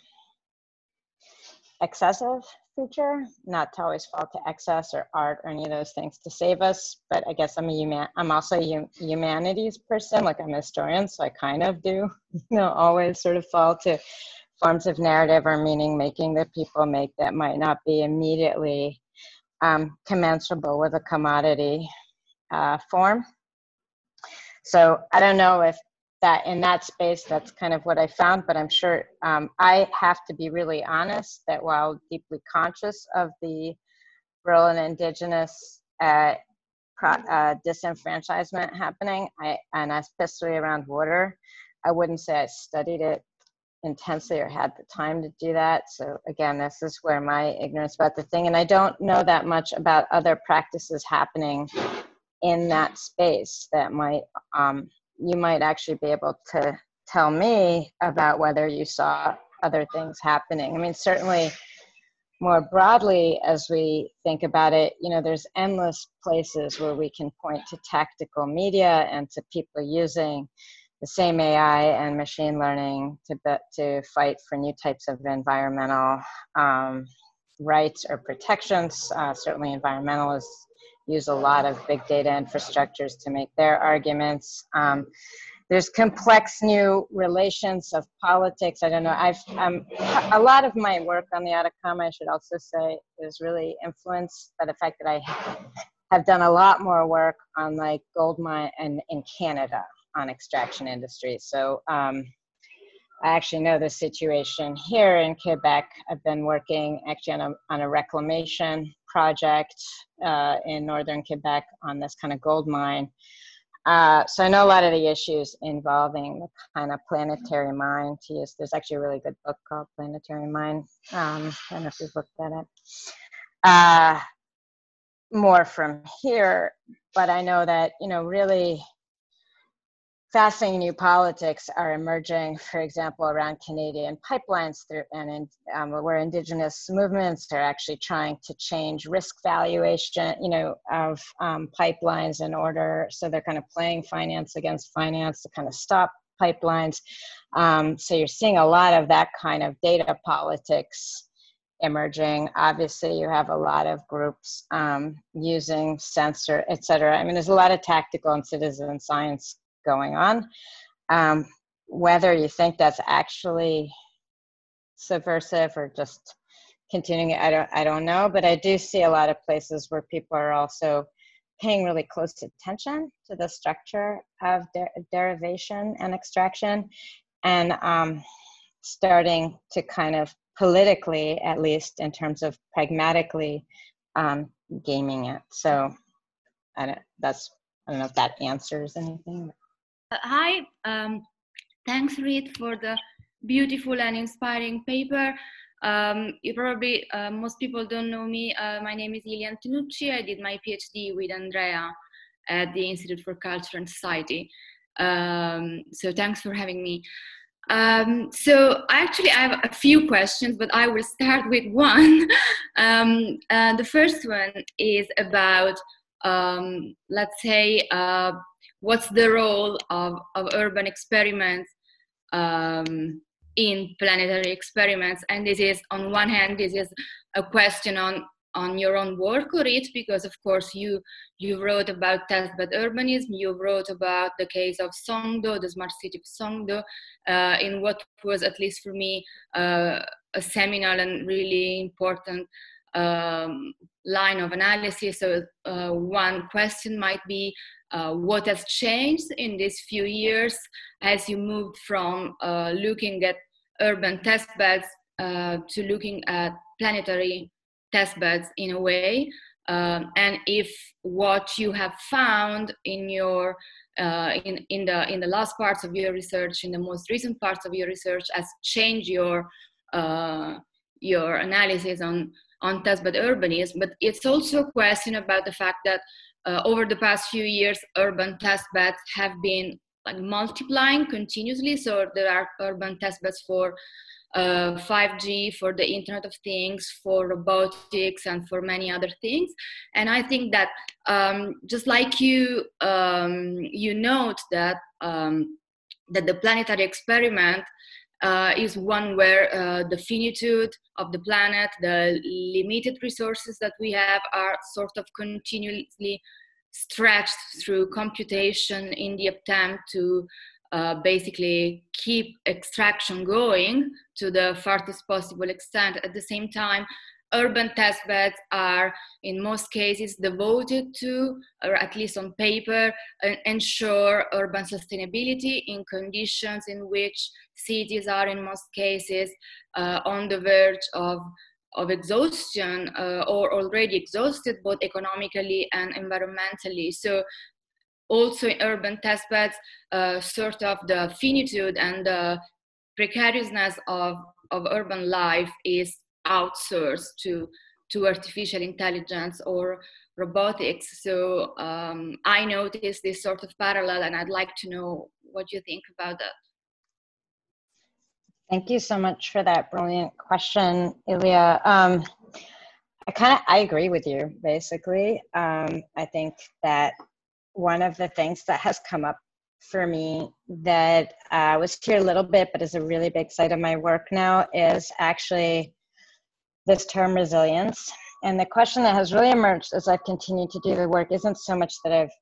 [SPEAKER 2] excessive feature, not to always fall to excess or art or any of those things to save us. But I guess I'm a human, I'm also a humanities person, like I'm a historian, so I kind of do, you know, always sort of fall to forms of narrative or meaning making that people make that might not be immediately um, commensurable with a commodity uh, form. So I don't know if that in that space, that's kind of what I found, but I'm sure um, I have to be really honest that while deeply conscious of the rural and indigenous uh, pro, uh, disenfranchisement happening, I, and especially around water, I wouldn't say I studied it intensely or had the time to do that. So again, this is where my ignorance about the thing, and I don't know that much about other practices happening in that space that might, um, you might actually be able to tell me about whether you saw other things happening. I mean, certainly more broadly, as we think about it, you know, there's endless places where we can point to tactical media and to people using the same A I and machine learning to be, to fight for new types of environmental um, rights or protections. Uh, certainly environmentalists use a lot of big data infrastructures to make their arguments. Um, there's complex new relations of politics. I don't know, I've, um, a lot of my work on the Atacama, I should also say, is really influenced by the fact that I have done a lot more work on like gold mine and in Canada on extraction industries. So um, I actually know the situation here in Quebec. I've been working actually on a, on a reclamation project uh, in northern Quebec on this kind of gold mine. Uh, so I know a lot of the issues involving the kind of planetary mine to use. There's actually a really good book called Planetary Mine. Um, I don't know if you've looked at it. Uh, more from here, but I know that, you know, really fascinating new politics are emerging, for example, around Canadian pipelines through, and in, um, where indigenous movements are actually trying to change risk valuation, you know, of um, pipelines in order, so they're kind of playing finance against finance to kind of stop pipelines. Um, so you're seeing a lot of that kind of data politics emerging. Obviously, you have a lot of groups um, using sensor, et cetera. I mean, there's a lot of tactical and citizen science going on. Um, whether you think that's actually subversive or just continuing it, I don't, I don't know, but I do see a lot of places where people are also paying really close attention to the structure of der derivation and extraction, and um, starting to kind of politically, at least in terms of pragmatically, um, gaming it. So I don't, that's, I don't know if that answers anything.
[SPEAKER 5] Uh, hi, um, thanks Reed for the beautiful and inspiring paper. Um, you probably, uh, most people don't know me. Uh, my name is Ilian Tenucci. I did my PhD with Andrea at the Institute for Culture and Society. Um, so thanks for having me. Um, so actually I have a few questions, but I will start with one. um, uh, the first one is about, um, let's say, uh, what's the role of, of urban experiments um, in planetary experiments? And this is, on one hand, this is a question on on your own work, Orit, because of course you you wrote about testbed urbanism, you wrote about the case of Songdo, the smart city of Songdo, uh, in what was, at least for me, uh, a seminal and really important um, line of analysis. So uh, one question might be, uh, what has changed in these few years as you moved from uh, looking at urban testbeds uh, to looking at planetary testbeds in a way, um, and if what you have found in your uh, in in the in the last parts of your research, in the most recent parts of your research, has changed your uh, your analysis on on testbed urbanism. But it's also a question about the fact that uh, over the past few years, urban testbeds have been like multiplying continuously. So there are urban testbeds for Uh, five G, for the Internet of Things, for robotics, and for many other things. And I think that um, just like you, um, you note that um, that the planetary experiment uh, is one where uh, the finitude of the planet, the limited resources that we have, are sort of continuously stretched through computation in the attempt to Uh, basically keep extraction going to the farthest possible extent. At the same time, urban testbeds are in most cases devoted to, or at least on paper, uh, ensure urban sustainability in conditions in which cities are in most cases uh, on the verge of of exhaustion uh, or already exhausted both economically and environmentally. So also in urban testbeds, uh, sort of the finitude and the precariousness of, of urban life is outsourced to, to artificial intelligence or robotics. So um, I noticed this sort of parallel, and I'd like to know what you think about that.
[SPEAKER 2] Thank you so much for that brilliant question, Ilya. Um, I kind of, I agree with you, basically. Um, I think that one of the things that has come up for me that uh, was here a little bit, but is a really big side of my work now, is actually this term resilience. And the question that has really emerged as I've continued to do the work isn't so much that I've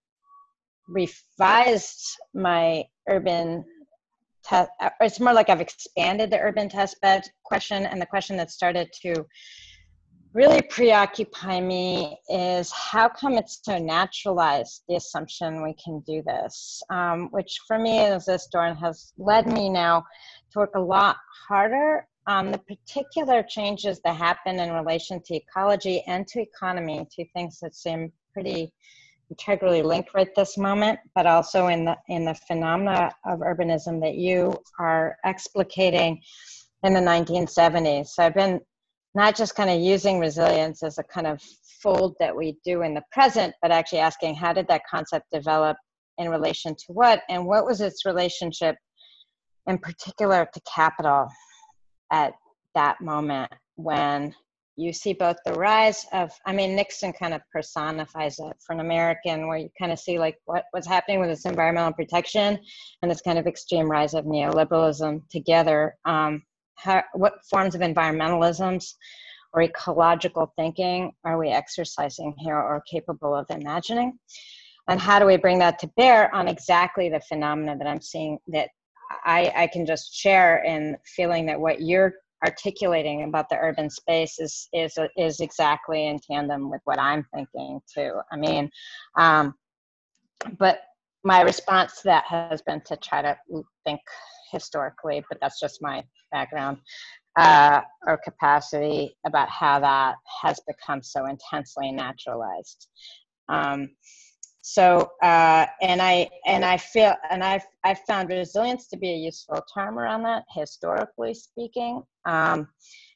[SPEAKER 2] revised my urban test, it's more like I've expanded the urban testbed question, and the question that started to really preoccupy me is how come it's so naturalized, the assumption we can do this, um, which for me as a historian has led me now to work a lot harder on the particular changes that happen in relation to ecology and to economy, two things that seem pretty integrally linked right this moment, but also in the in the phenomena of urbanism that you are explicating in the nineteen seventies. So I've been not just kind of using resilience as a kind of fold that we do in the present, but actually asking how did that concept develop in relation to what, and what was its relationship in particular to capital at that moment when you see both the rise of, I mean, Nixon kind of personifies it for an American, where you kind of see like what, what's happening with this environmental protection and this kind of extreme rise of neoliberalism together. Um, how, what forms of environmentalisms or ecological thinking are we exercising here or capable of imagining? And how do we bring that to bear on exactly the phenomena that I'm seeing, that I, I can just share in feeling that what you're articulating about the urban space is is is exactly in tandem with what I'm thinking too. I mean, um, but my response to that has been to try to think historically, but that's just my background, uh, or capacity about how that has become so intensely naturalized. Um, so, uh, and I, and I feel, and I've, I've found resilience to be a useful term around that, historically speaking. Um,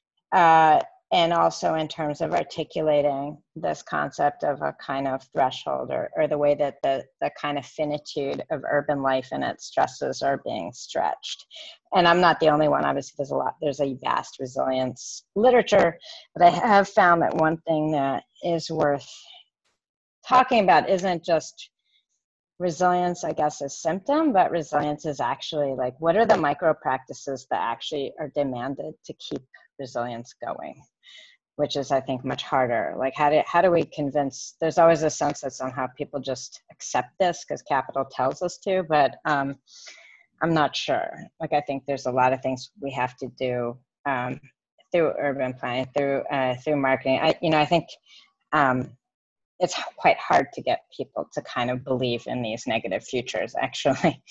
[SPEAKER 2] uh, and also in terms of articulating this concept of a kind of threshold, or, or the way that the, the kind of finitude of urban life and its stresses are being stretched. And I'm not the only one, obviously there's a lot, there's a vast resilience literature, but I have found that one thing that is worth talking about isn't just resilience, I guess, as symptom, but resilience is actually like, what are the micro practices that actually are demanded to keep resilience going, which is, I think, much harder. Like, how do, how do we convince, there's always a sense that somehow people just accept this because capital tells us to, but um, I'm not sure. Like, I think there's a lot of things we have to do um, through urban planning, through, uh, through marketing. I, you know, I think, um, it's quite hard to get people to kind of believe in these negative futures, actually.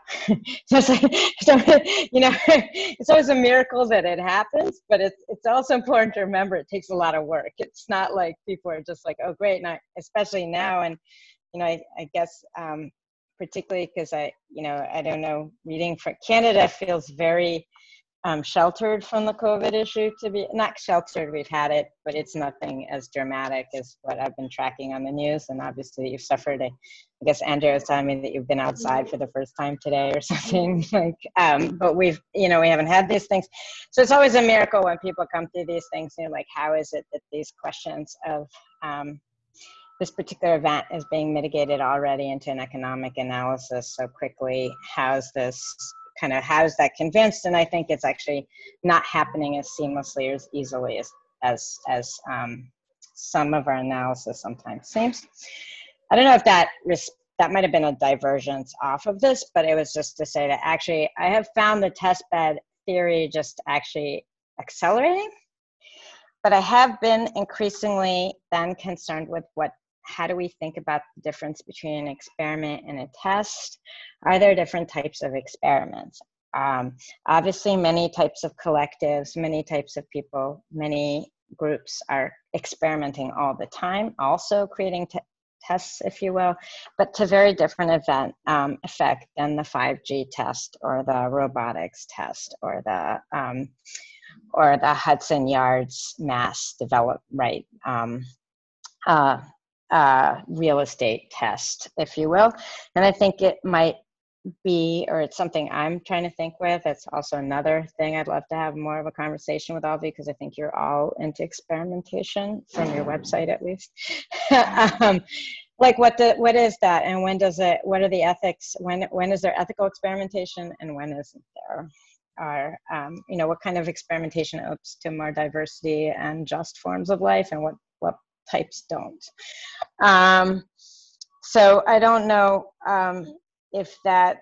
[SPEAKER 2] So it's like, so, you know, it's always a miracle that it happens, but it's, it's also important to remember it takes a lot of work. It's not like people are just like, oh, great, now, especially now. And, you know, I, I guess, um, particularly because I, you know, I don't know, reading from Canada feels very Um, sheltered from the COVID issue, to be not sheltered, we've had it, but it's nothing as dramatic as what I've been tracking on the news. And obviously you've suffered a, I guess Andrea was telling me that you've been outside for the first time today or something like, um, but we've, you know, we haven't had these things. So it's always a miracle when people come through these things, you know, like, how is it that these questions of um, this particular event is being mitigated already into an economic analysis so quickly? How's this kind of, how is that convinced? And I think it's actually not happening as seamlessly or as easily as as, as um, some of our analysis sometimes seems. I don't know if that that might have been a divergence off of this, but it was just to say that actually I have found the test bed theory just actually accelerating, but I have been increasingly then concerned with what, how do we think about the difference between an experiment and a test? Are there different types of experiments? Um, obviously, many types of collectives, many types of people, many groups are experimenting all the time, also creating t tests, if you will, but to very different event um, effect than the five G test or the robotics test or the um, or the Hudson Yards mass develop right. Um, uh, Uh, real estate test, if you will. And I think it might be, or it's something I'm trying to think with. It's also another thing I'd love to have more of a conversation with all of you, because I think you're all into experimentation, from your website at least. um, like what the, what is that, and when does it, what are the ethics, when, when is there ethical experimentation and when isn't there? Or, um, you know, what kind of experimentation opens to more diversity and just forms of life, and what, what types don't. Um, so I don't know um, if that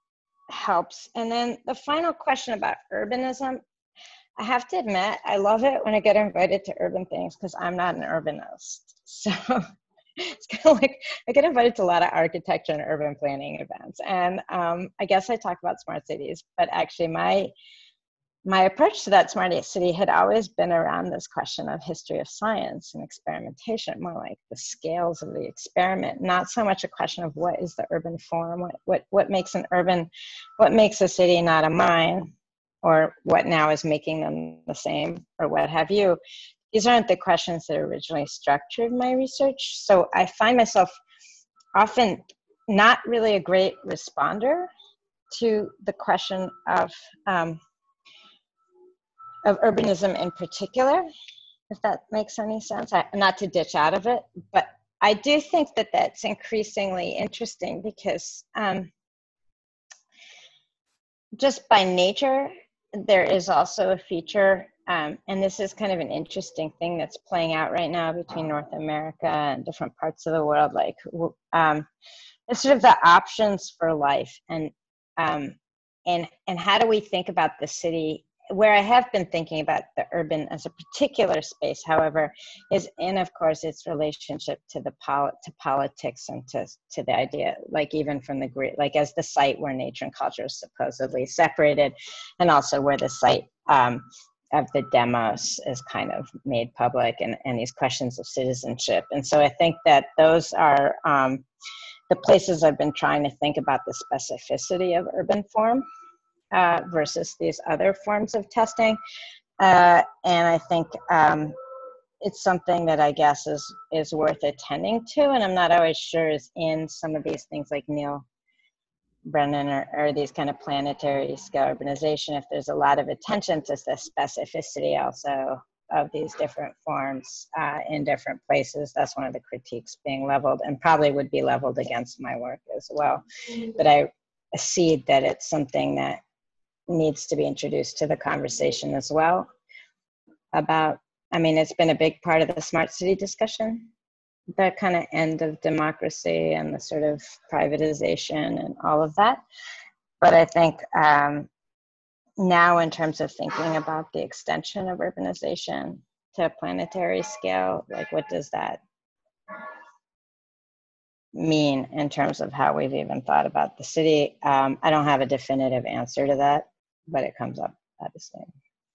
[SPEAKER 2] helps. And then the final question about urbanism, I have to admit, I love it when I get invited to urban things because I'm not an urbanist. So it's kind of like I get invited to a lot of architecture and urban planning events. And um, I guess I talk about smart cities, but actually my My approach to that smart city had always been around this question of history of science and experimentation, more like the scales of the experiment, not so much a question of what is the urban form, what, what, what makes an urban, what makes a city not a mine, or what now is making them the same, or what have you. These aren't the questions that originally structured my research. So I find myself often not really a great responder to the question of, um, of urbanism in particular, if that makes any sense. I, not to ditch out of it, but I do think that that's increasingly interesting because um, just by nature, there is also a feature, um, and this is kind of an interesting thing that's playing out right now between North America and different parts of the world, like um, it's sort of the options for life, and um, and and how do we think about the city where I have been thinking about the urban as a particular space, however, is in, of course, its relationship to the pol to politics and to, to the idea, like even from the Greek, like as the site where nature and culture is supposedly separated, and also where the site um, of the demos is kind of made public, and, and these questions of citizenship. And so I think that those are um, the places I've been trying to think about the specificity of urban form. Uh, versus these other forms of testing. Uh, and I think um, it's something that I guess is, is worth attending to, and I'm not always sure is in some of these things like Neil Brennan or, or these kind of planetary scale urbanization, if there's a lot of attention to the specificity also of these different forms uh, in different places. That's one of the critiques being leveled, and probably would be leveled against my work as well. But I see that it's something that needs to be introduced to the conversation as well about, I mean, it's been a big part of the smart city discussion, the kind of end of democracy and the sort of privatization and all of that. But I think um, now in terms of thinking about the extension of urbanization to a planetary scale, like what does that mean in terms of how we've even thought about the city? Um, I don't have a definitive answer to that, but it comes up at the same.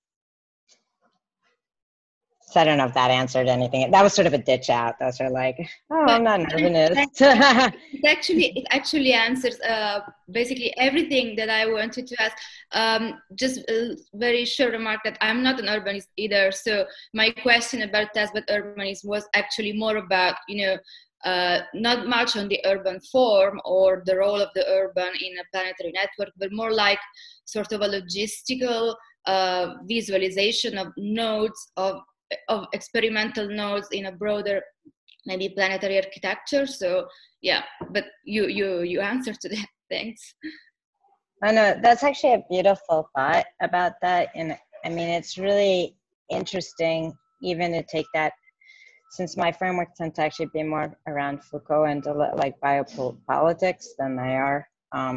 [SPEAKER 2] So I don't know if that answered anything. That was sort of a ditch out. Those are like, oh, I'm not an urbanist.
[SPEAKER 5] it actually, it actually answers uh, basically everything that I wanted to ask. Um, just a very short remark that I'm not an urbanist either. So my question about test but urbanist was actually more about, you know, Uh, not much on the urban form or the role of the urban in a planetary network, but more like sort of a logistical uh, visualization of nodes, of, of experimental nodes in a broader, maybe planetary architecture. So yeah, but you you you answered to that. Thanks.
[SPEAKER 2] I know, that's actually a beautiful thought about that. And I mean, it's really interesting even to take that, since my framework tends to actually be more around Foucault and like biopolitics than they are um,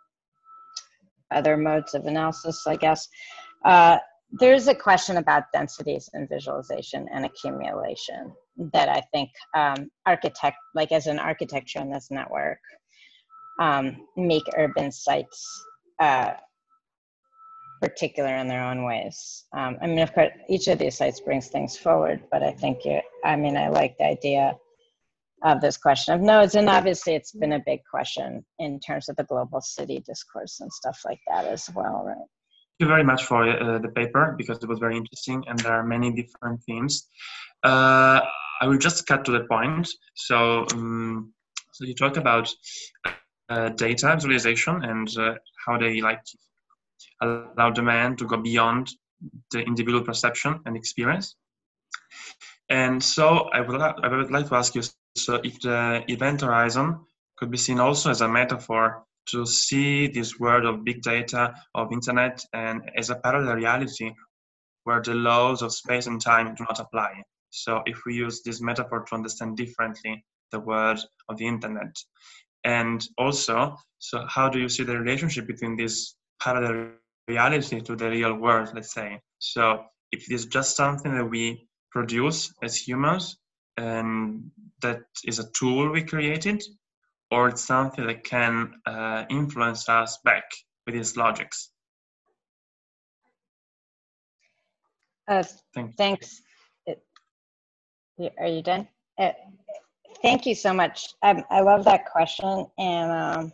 [SPEAKER 2] other modes of analysis, I guess. Uh, there's a question about densities and visualization and accumulation that I think um, architect, like as an architecture in this network, um, make urban sites uh, particular in their own ways. Um, I mean, of course, each of these sites brings things forward, but I think, it, I mean, I like the idea of this question of nodes, and obviously it's been a big question in terms of the global city discourse and stuff like that as well, right?
[SPEAKER 6] Thank you very much for uh, the paper, because it was very interesting and there are many different themes. Uh, I will just cut to the point. So, um, so you talked about uh, data visualization and uh, how they like allow the man to go beyond the individual perception and experience. And so I would, I would like to ask you, so if the event horizon could be seen also as a metaphor to see this world of big data, of internet, and as a parallel reality where the laws of space and time do not apply. So if we use this metaphor to understand differently the world of the internet. And also, so how do you see the relationship between this parallel reality to the real world, let's say? So if it is just something that we produce as humans and that is a tool we created, or it's something that can uh, influence us back with its logics?
[SPEAKER 2] Uh,
[SPEAKER 6] Thank
[SPEAKER 2] thanks. Are you done? Uh, thank you so much. I, I love that question. And um,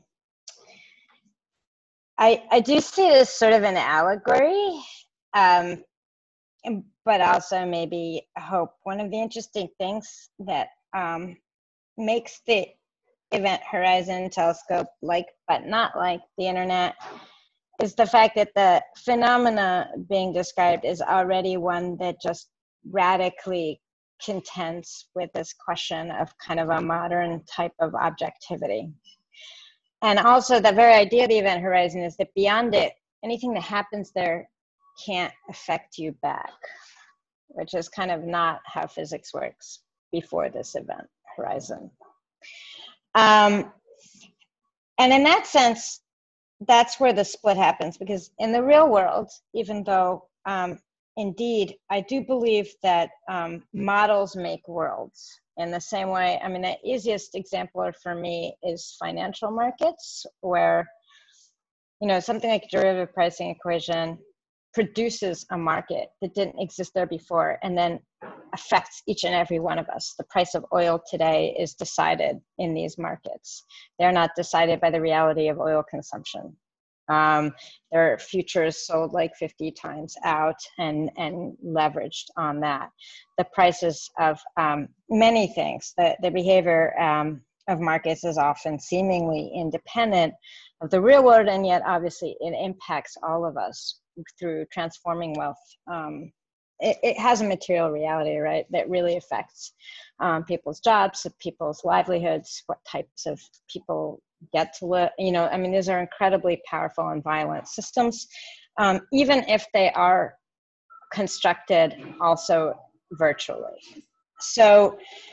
[SPEAKER 2] I, I do see it as sort of an allegory, um, but also maybe hope. One of the interesting things that um, makes the Event Horizon Telescope like, but not like the internet, is the fact that the phenomena being described is already one that just radically contends with this question of kind of a modern type of objectivity. And also the very idea of the event horizon is that beyond it, anything that happens there can't affect you back, which is kind of not how physics works before this event horizon. Um, and in that sense, that's where the split happens, because in the real world, even though um, indeed, I do believe that um, models make worlds. In the same way, I mean, the easiest example for me is financial markets, where, you know, something like a derivative pricing equation produces a market that didn't exist there before, and then affects each and every one of us. The price of oil today is decided in these markets. They're not decided by the reality of oil consumption. Um, there are futures sold like fifty times out and, and leveraged on that. The prices of um, many things, the, the behavior um, of markets is often seemingly independent of the real world, and yet obviously it impacts all of us through transforming wealth. Um, it, it has a material reality, right, that really affects um, people's jobs, people's livelihoods, what types of people get to live. You know, I mean, these are incredibly powerful and violent systems, um, even if they are constructed also virtually. So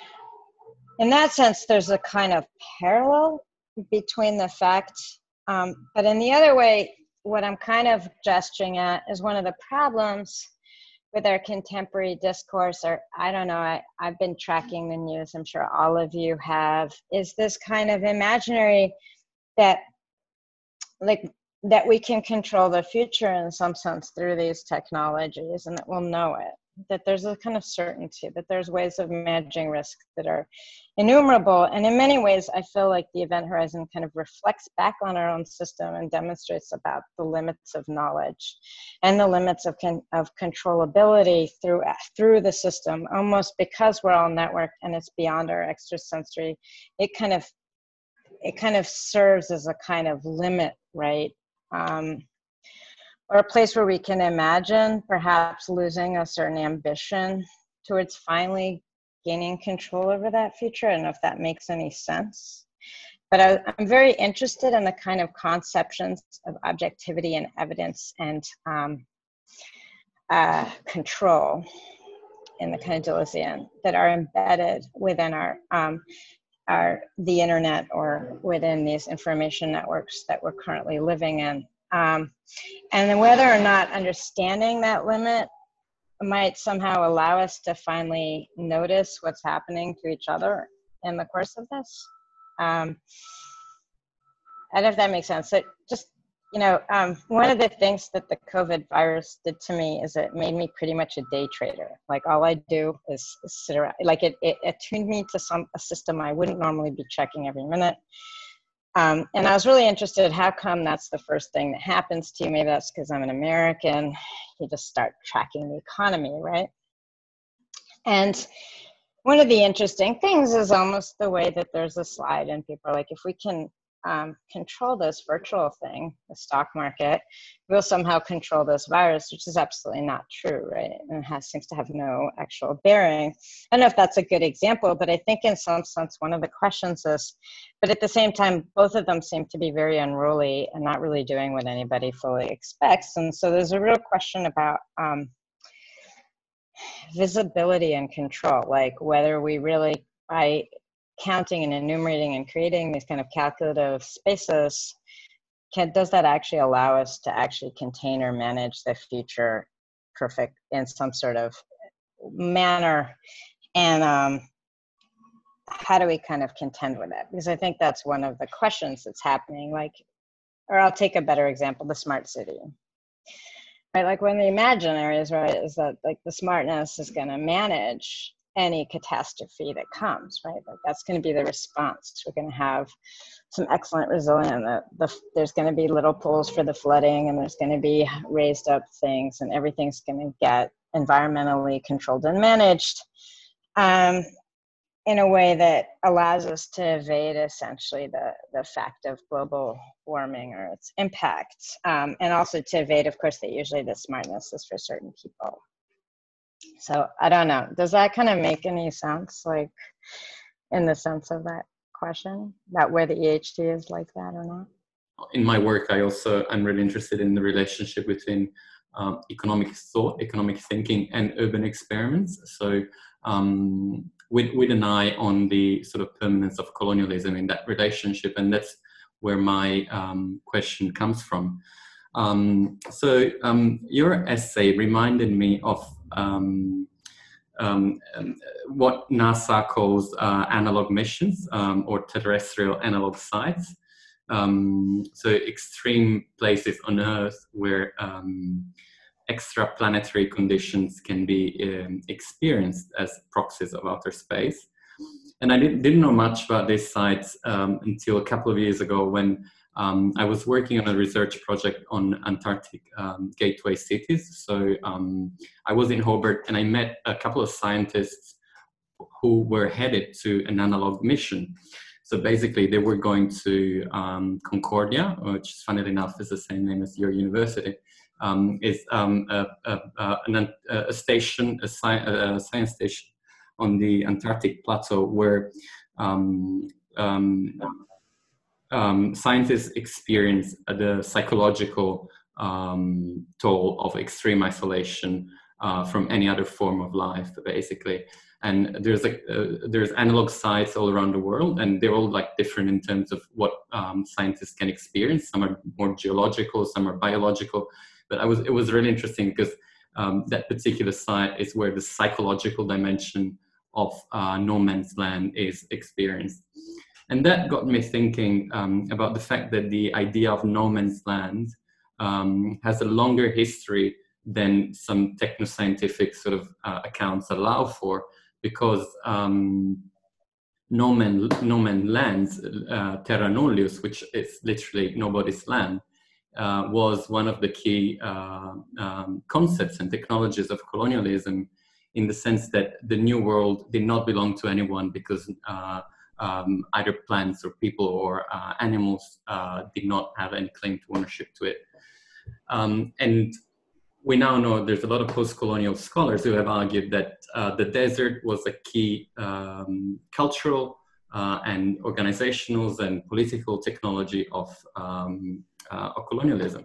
[SPEAKER 2] in that sense, there's a kind of parallel between the fact, um, but in the other way, what I'm kind of gesturing at is one of the problems with our contemporary discourse, or I don't know, I, I've been tracking the news, I'm sure all of you have, is this kind of imaginary that, like, that we can control the future in some sense through these technologies, and that we'll know it, that there's a kind of certainty, that there's ways of managing risk that are innumerable. And in many ways, I feel like the Event Horizon kind of reflects back on our own system and demonstrates about the limits of knowledge and the limits of, con of controllability through, through the system, almost because we're all networked and it's beyond our extrasensory. It kind of, it kind of serves as a kind of limit, right? Um, or a place where we can imagine perhaps losing a certain ambition towards finally gaining control over that future. I don't know if that makes any sense. But I, I'm very interested in the kind of conceptions of objectivity and evidence and um, uh, control in the kind of Deleuzean that are embedded within our, um, our, the internet or within these information networks that we're currently living in. Um, and then whether or not understanding that limit might somehow allow us to finally notice what's happening to each other in the course of this. Um, I don't know if that makes sense. So just, you know, um, one of the things that the COVID virus did to me is it made me pretty much a day trader. Like all I do is, is sit around, like it, it attuned me to some a system I wouldn't normally be checking every minute. Um, and I was really interested, how come that's the first thing that happens to you? Maybe that's because I'm an American. You just start tracking the economy, right? And one of the interesting things is almost the way that there's a slide and people are like, if we can um, control this virtual thing, the stock market, we'll somehow control this virus, which is absolutely not true, right? And it has, seems to have no actual bearing. I don't know if that's a good example, but I think in some sense, one of the questions is, but at the same time, both of them seem to be very unruly and not really doing what anybody fully expects. And so there's a real question about um, visibility and control, like whether we really, by counting and enumerating and creating these kind of calculative spaces, can, does that actually allow us to actually contain or manage the future perfect in some sort of manner? And um, how do we kind of contend with it? Because I think that's one of the questions that's happening. Like, or I'll take a better example, the smart city. Right, like when the imaginary is right, is that like the smartness is going to manage any catastrophe that comes, right? Like that's going to be the response. We're going to have some excellent resilience. The, the, there's going to be little pools for the flooding, and there's going to be raised up things, and everything's going to get environmentally controlled and managed um, in a way that allows us to evade essentially the, the fact of global warming or its impact. Um, and also to evade, of course, that usually the smartness is for certain people. So I don't know, does that kind of make any sense, like in the sense of that question, about where the E H T is like that or not?
[SPEAKER 1] In my work, I also, I'm really interested in the relationship between um, economic thought, economic thinking, and urban experiments. So um, with, with an eye on the sort of permanence of colonialism in that relationship, and that's where my um, question comes from. Um, so um, your essay reminded me of um, um, what NASA calls uh, analog missions um, or terrestrial analog sites. Um, so extreme places on Earth where um, extraplanetary conditions can be um, experienced as proxies of outer space. And I didn't, didn't know much about these sites um, until a couple of years ago when um, I was working on a research project on Antarctic um, gateway cities. So um, I was in Hobart and I met a couple of scientists who were headed to an analog mission. So basically they were going to um, Concordia, which funnily enough is the same name as your university. Um, is um, a, a, a, a station, a, sci a science station on the Antarctic plateau where um, um, um, scientists experience the psychological um, toll of extreme isolation uh, from any other form of life, basically. And there's like uh, there's analog sites all around the world, and they're all like different in terms of what um, scientists can experience. Some are more geological, some are biological. But I was it was really interesting because um, that particular site is where the psychological dimension of uh, no man's land is experienced. And that got me thinking um, about the fact that the idea of no man's land um, has a longer history than some technoscientific sort of uh, accounts allow for, because um, no man, no man lands, uh, terra nullius, which is literally nobody's land, Uh, was one of the key uh, um, concepts and technologies of colonialism, in the sense that the New World did not belong to anyone because uh, um, either plants or people or uh, animals uh, did not have any claim to ownership to it. Um, and we now know there's a lot of post-colonial scholars who have argued that uh, the desert was a key um, cultural uh, and organizational and political technology of um, Uh, of colonialism.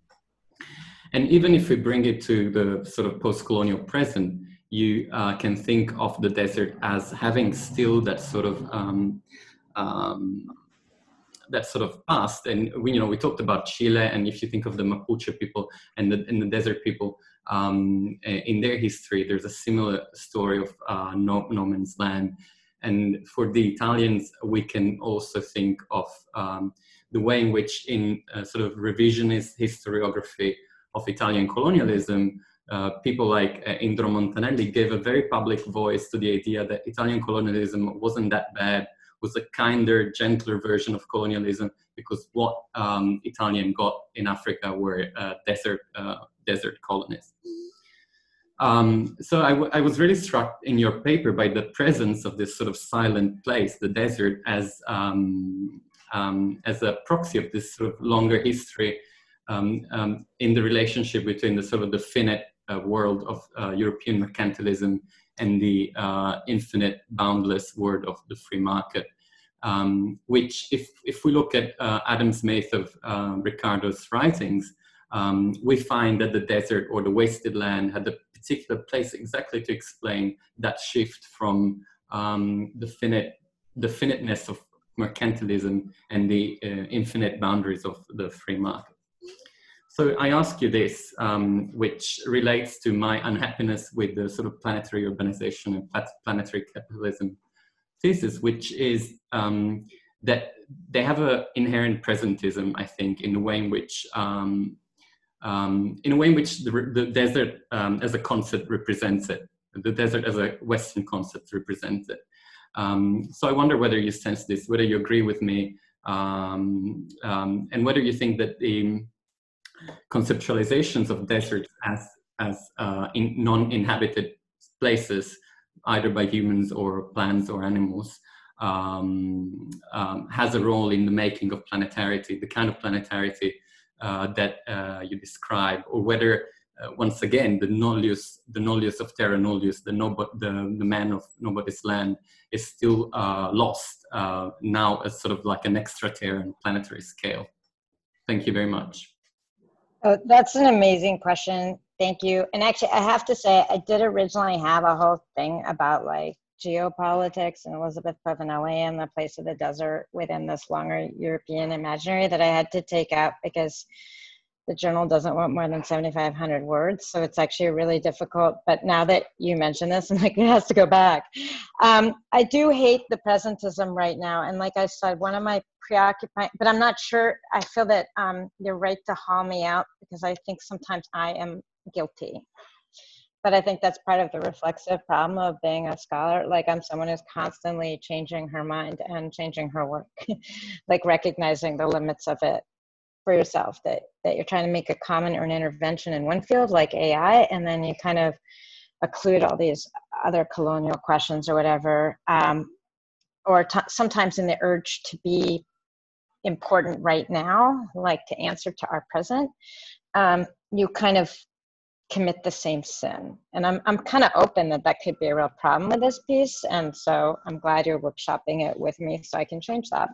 [SPEAKER 1] And even if we bring it to the sort of post-colonial present, you uh, can think of the desert as having still that sort of um, um, that sort of past. And we, you know, we talked about Chile, and if you think of the Mapuche people and the, and the desert people um, in their history, there's a similar story of uh, no, no man's land. And for the Italians, we can also think of um, the way in which in uh, sort of revisionist historiography of Italian colonialism, uh, people like uh, Indro Montanelli gave a very public voice to the idea that Italian colonialism wasn't that bad, was a kinder, gentler version of colonialism, because what um, Italian got in Africa were uh, desert, uh, desert colonies. Um, so I, w I was really struck in your paper by the presence of this sort of silent place, the desert, as um, Um, as a proxy of this sort of longer history um, um, in the relationship between the sort of the finite uh, world of uh, European mercantilism and the uh, infinite, boundless world of the free market, um, which if, if we look at uh, Adam Smith of uh, Ricardo's writings, um, we find that the desert or the wasted land had a particular place exactly to explain that shift from um, the finite, the finiteness of mercantilism and the uh, infinite boundaries of the free market. So I ask you this, um, which relates to my unhappiness with the sort of planetary urbanization and planetary capitalism thesis, which is um, that they have an inherent presentism, I think, in the way in which um, um, in a way in which the, the desert um, as a concept represents it, the desert as a Western concept represents it. Um, so I wonder whether you sense this, whether you agree with me, um, um, and whether you think that the conceptualizations of deserts as, as uh, in non-inhabited places, either by humans or plants or animals, um, um, has a role in the making of planetarity, the kind of planetarity uh, that uh, you describe, or whether Uh, once again, the nullius, the nullius of terra nullius, the, no, the, the man of nobody's land, is still uh, lost uh, now as sort of like an extraterran planetary scale. Thank you very much.
[SPEAKER 2] Oh, that's an amazing question. Thank you. And actually, I have to say, I did originally have a whole thing about like geopolitics and Elizabeth Povinelli and the place of the desert within this longer European imaginary that I had to take out because the journal doesn't want more than seventy-five hundred words, so it's actually really difficult. But now that you mention this, I'm like, it has to go back. Um, I do hate the presentism right now, and like I said, one of my preoccupying, but I'm not sure, I feel that um, you're right to haul me out, because I think sometimes I am guilty. But I think that's part of the reflexive problem of being a scholar. Like, I'm someone who's constantly changing her mind and changing her work, like recognizing the limits of it for yourself, that, that you're trying to make a comment or an intervention in one field like A I, and then you kind of occlude all these other colonial questions or whatever, um, or t- sometimes in the urge to be important right now, like to answer to our present, um, you kind of commit the same sin. And I'm, I'm kind of open that that could be a real problem with this piece, and so I'm glad you're workshopping it with me so I can change that.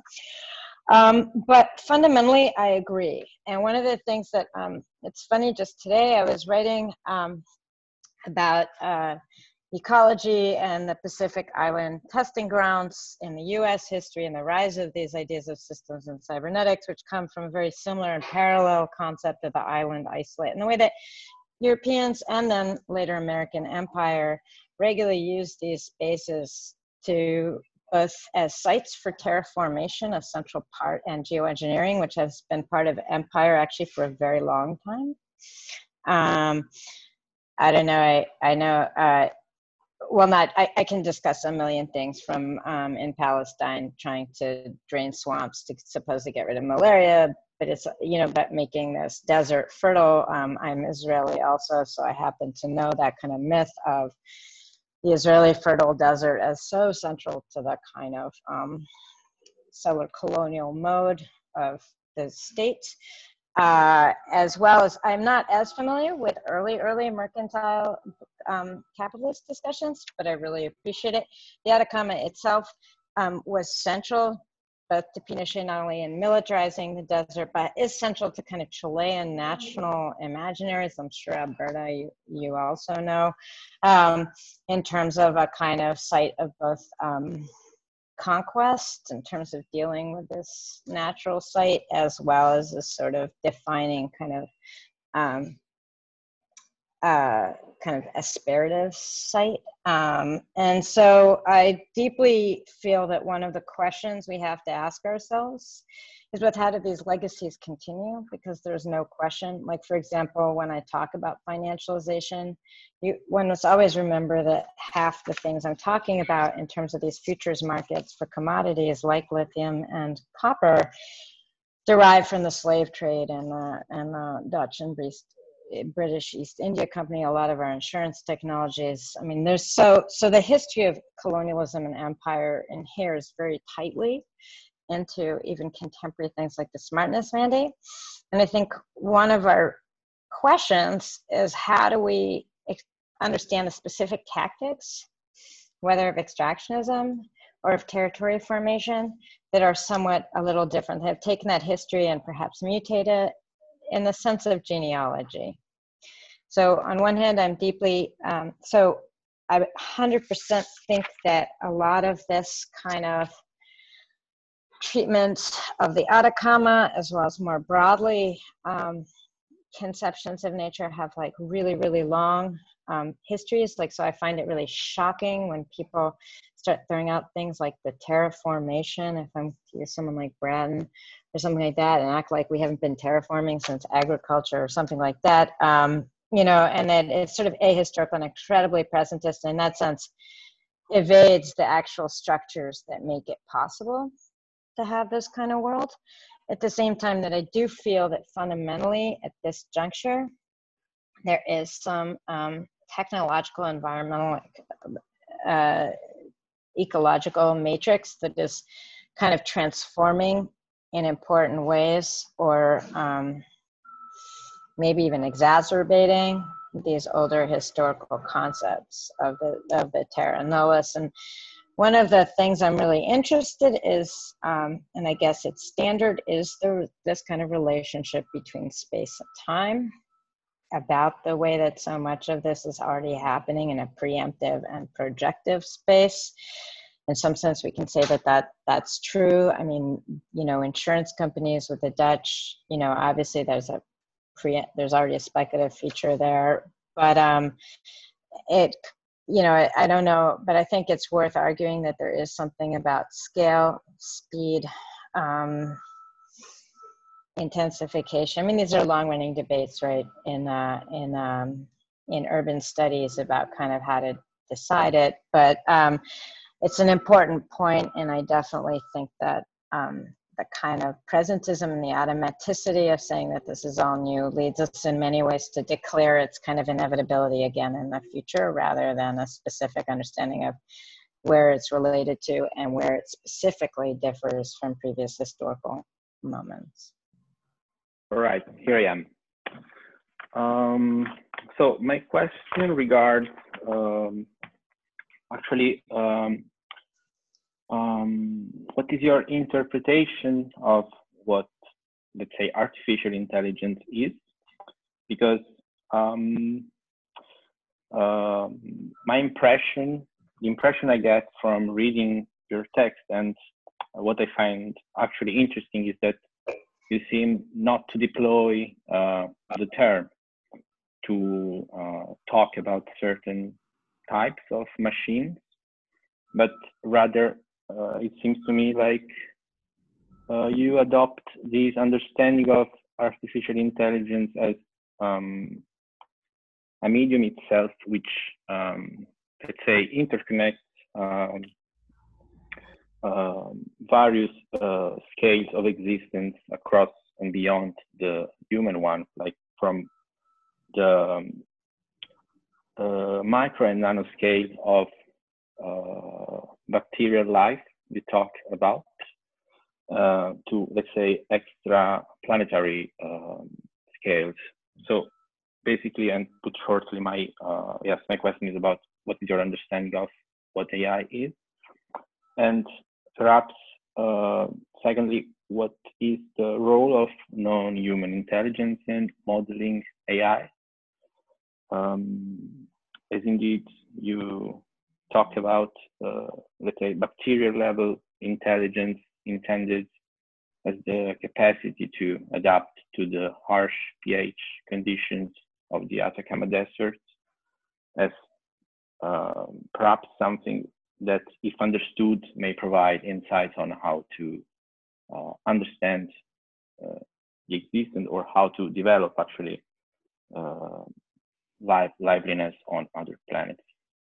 [SPEAKER 2] Um, but fundamentally, I agree. And one of the things that, um, it's funny, just today I was writing um, about uh, ecology and the Pacific Island testing grounds in the U S history and the rise of these ideas of systems and cybernetics, which come from a very similar and parallel concept of the island isolate, and the way that Europeans and then later American empire regularly used these spaces to both as sites for terraformation, a central part, and geoengineering, which has been part of empire actually for a very long time. Um, I don't know, I, I know, uh, well, not, I, I can discuss a million things, from um, in Palestine trying to drain swamps to supposedly get rid of malaria, but it's, you know, but making this desert fertile. Um, I'm Israeli also, so I happen to know that kind of myth of the Israeli fertile desert as so central to the kind of um, settler colonial mode of the state. Uh, as well as, I'm not as familiar with early, early mercantile um, capitalist discussions, but I really appreciate it. The Atacama itself um, was central both to Pinochet, not only in militarizing the desert, but is central to kind of Chilean national imaginaries. I'm sure, Alberta, you, you also know, um, in terms of a kind of site of both um, conquest in terms of dealing with this natural site, as well as a sort of defining kind of um, uh, kind of aspirative site. Um, and so I deeply feel that one of the questions we have to ask ourselves is with how do these legacies continue? Because there's no question, like for example, when I talk about financialization, you, one must always remember that half the things I'm talking about in terms of these futures markets for commodities like lithium and copper derive from the slave trade and the, and the Dutch and British British East India Company, a lot of our insurance technologies. I mean, there's so, so the history of colonialism and empire inheres very tightly into even contemporary things like the smartness mandate. And I think one of our questions is how do we understand the specific tactics, whether of extractionism or of territory formation, that are somewhat a little different. They have taken that history and perhaps mutated it in the sense of genealogy. So on one hand, I'm deeply, um, so I one hundred percent think that a lot of this kind of treatment of the Atacama, as well as more broadly, um, conceptions of nature have like really, really long um, histories. Like, so I find it really shocking when people start throwing out things like the terraformation, if I'm to use someone like Braden or something like that, and act like we haven't been terraforming since agriculture or something like that. Um, you know, and then it's sort of ahistorical and incredibly presentist, and in that sense evades the actual structures that make it possible to have this kind of world. At the same time that I do feel that fundamentally at this juncture, there is some um, technological, environmental, uh, ecological matrix that is kind of transforming in important ways, or um, maybe even exacerbating these older historical concepts of the, of the terra nullius. And one of the things I'm really interested is, um, and I guess it's standard, is the, this kind of relationship between space and time, about the way that so much of this is already happening in a preemptive and projective space. In some sense, we can say that, that that's true. I mean, you know, insurance companies with the Dutch, you know, obviously there's a pre, there's already a speculative feature there, but um, it, you know, I, I don't know, but I think it's worth arguing that there is something about scale, speed, um, intensification. I mean, these are long-running debates, right, in uh, in um, in urban studies about kind of how to decide it. But um, it's an important point, and I definitely think that um, the kind of presentism and the automaticity of saying that this is all new leads us in many ways to declare its kind of inevitability again in the future, rather than a specific understanding of where it's related to and where it specifically differs from previous historical moments.
[SPEAKER 3] All right, here I am. Um, so my question regards um, actually um, um, what is your interpretation of what, let's say, artificial intelligence is? Because um, uh, my impression, the impression I get from reading your text and what I find actually interesting is that you seem not to deploy uh, the term to uh, talk about certain types of machines, but rather uh, it seems to me like uh, you adopt this understanding of artificial intelligence as um, a medium itself, which, um, let's say, interconnects um, uh, various uh, scales of existence across and beyond the human one, like from the um, uh, micro and nano scale of uh, bacterial life we talk about, uh, to, let's say, extra planetary um, scales. So basically, and put shortly, my uh, yes, my question is about what is your understanding of what A I is, and perhaps uh, secondly, what is the role of non-human intelligence in modeling A I? Um, as indeed you talked about, uh, let's say, bacterial level intelligence intended as the capacity to adapt to the harsh pH conditions of the Atacama Desert, as uh, perhaps something that, if understood, may provide insights on how to uh, understand uh, the existence, or how to develop actually uh, life, liveliness on other planets.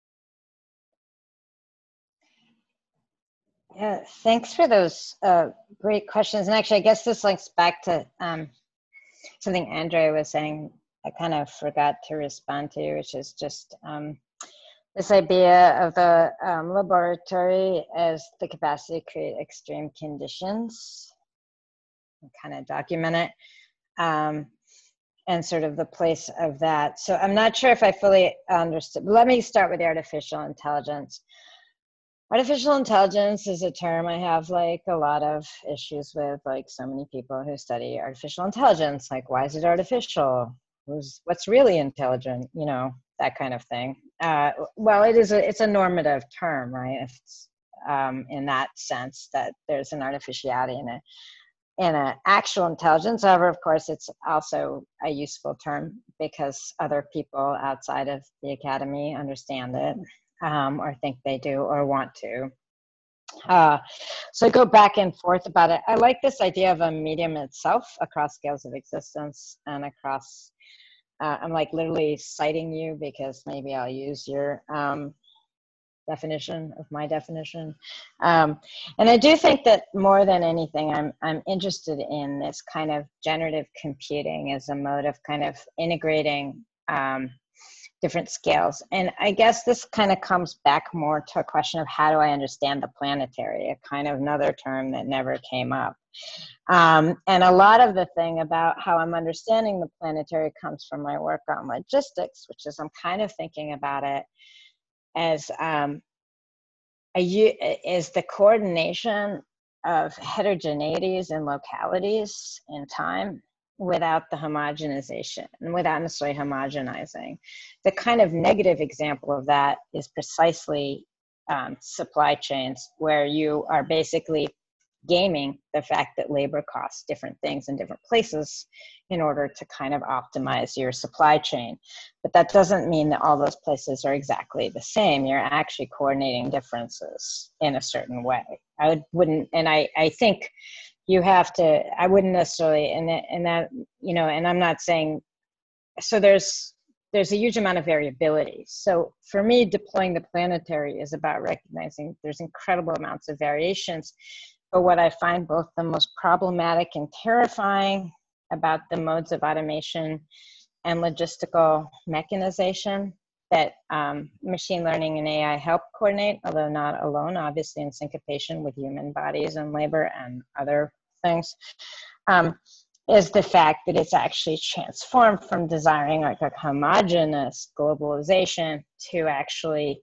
[SPEAKER 2] Yeah, thanks for those uh, great questions. And actually, I guess this links back to um, something Andrea was saying I kind of forgot to respond to, which is just um, this idea of the um, laboratory as the capacity to create extreme conditions and kind of document it, um, and sort of the place of that. So I'm not sure if I fully understood. Let me start with the artificial intelligence. Artificial intelligence is a term I have like a lot of issues with, like so many people who study artificial intelligence. Like, why is it artificial? Who's, what's really intelligent? You know, that kind of thing. Uh, well, it is a, it's a normative term, right? It's, um, in that sense that there's an artificiality in it. In an actual intelligence, however, of course, it's also a useful term because other people outside of the academy understand it. Um, or think they do or want to. Uh, so I go back and forth about it. I like this idea of a medium itself across scales of existence and across, uh, I'm like literally citing you because maybe I'll use your um, definition of my definition. Um, and I do think that more than anything, I'm, I'm interested in this kind of generative computing as a mode of kind of integrating um, different scales. And I guess this kind of comes back more to a question of how do I understand the planetary, a kind of another term that never came up. Um, and a lot of the thing about how I'm understanding the planetary comes from my work on logistics, which is I'm kind of thinking about it as um, a, is the coordination of heterogeneities and localities in time without the homogenization and without necessarily homogenizing. The kind of negative example of that is precisely um, supply chains, where you are basically gaming the fact that labor costs different things in different places in order to kind of optimize your supply chain. But that doesn't mean that all those places are exactly the same. You're actually coordinating differences in a certain way. I would, wouldn't, and I, I think you have to, I wouldn't necessarily, and that, and that, you know, and I'm not saying, so there's, there's a huge amount of variability. So for me, deploying the planetary is about recognizing there's incredible amounts of variations. But what I find both the most problematic and terrifying about the modes of automation and logistical mechanization that um, machine learning and A I help coordinate, although not alone, obviously in syncopation with human bodies and labor and other things, um, is the fact that it's actually transformed from desiring like a homogeneous globalization to actually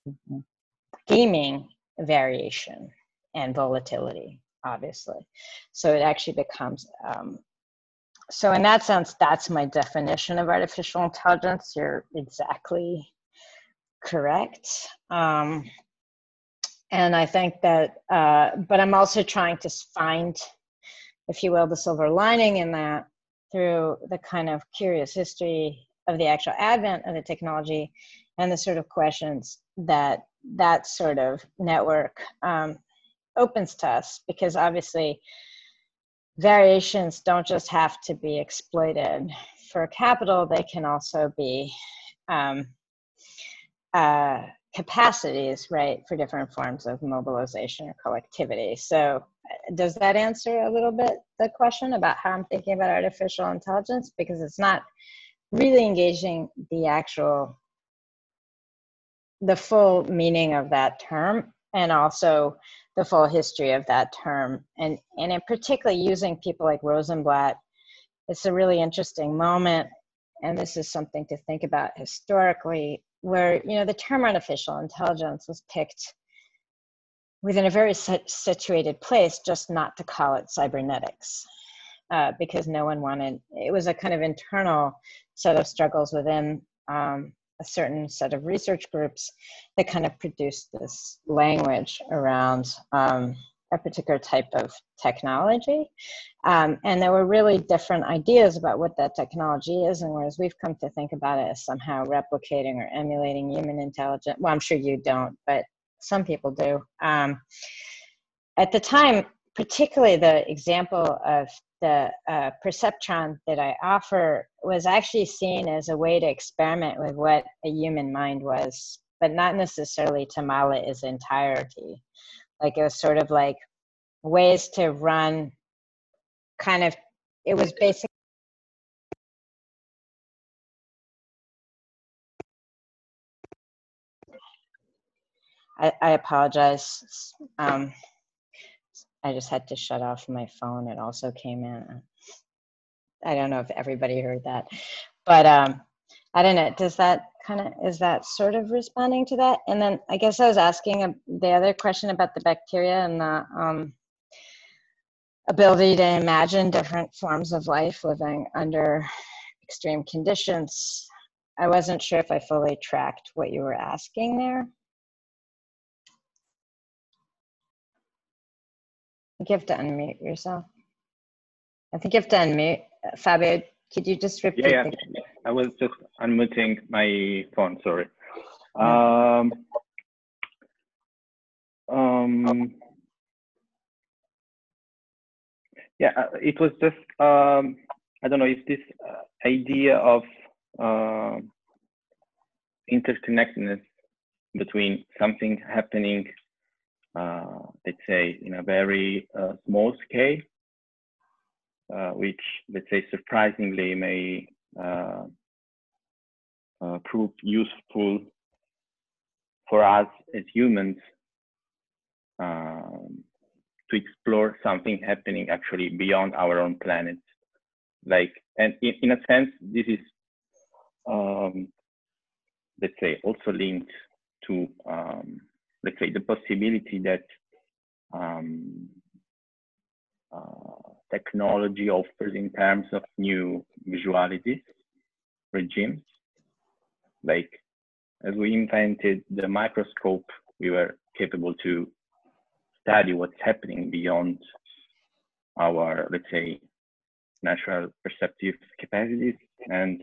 [SPEAKER 2] gaming variation and volatility, obviously. So it actually becomes, um, so in that sense, that's my definition of artificial intelligence. You're exactly correct. Um, and I think that, uh, but I'm also trying to find, if you will, the silver lining in that through the kind of curious history of the actual advent of the technology and the sort of questions that that sort of network um, opens to us, because obviously variations don't just have to be exploited for capital, they can also be um, uh, capacities, right, for different forms of mobilization or collectivity. So does that answer a little bit the question about how I'm thinking about artificial intelligence? Because it's not really engaging the actual, the full meaning of that term, and also the full history of that term. And, and in particular, using people like Rosenblatt, it's a really interesting moment. And this is something to think about historically, where, you know, the term artificial intelligence was picked within a very situated place, just not to call it cybernetics, uh, because no one wanted, it was a kind of internal set of struggles within um, a certain set of research groups that kind of produced this language around um, a particular type of technology. Um, and there were really different ideas about what that technology is, and whereas we've come to think about it as somehow replicating or emulating human intelligence, well, I'm sure you don't, but some people do. Um, at the time, particularly the example of the uh, perceptron that I offer was actually seen as a way to experiment with what a human mind was, but not necessarily to model it as entirety. Like it was sort of like ways to run kind of, it was basically I, I apologize. Um, I just had to shut off my phone. It also came in. I don't know if everybody heard that, but um, I don't know. Does that kind of, is that sort of responding to that? And then I guess I was asking the other question about the bacteria and the um, ability to imagine different forms of life living under extreme conditions. I wasn't sure if I fully tracked what you were asking there. I think you have to unmute yourself. I think you have to unmute. Fabio, could you just repeat?
[SPEAKER 3] Yeah, yeah.
[SPEAKER 2] The...
[SPEAKER 3] I was just unmuting my phone, sorry. Um, um, yeah, it was just, um, I don't know if this uh, idea of uh, interconnectedness between something happening, uh, let's say, in a very uh, small scale, uh, which, let's say, surprisingly may uh, uh, prove useful for us as humans um, to explore something happening actually beyond our own planet. Like, and in, in a sense, this is, um, let's say, also linked to, um, let's say, the possibility that um, uh, technology offers in terms of new visualities, regimes. Like, as we invented the microscope, we were capable to study what's happening beyond our, let's say, natural perceptive capacities. And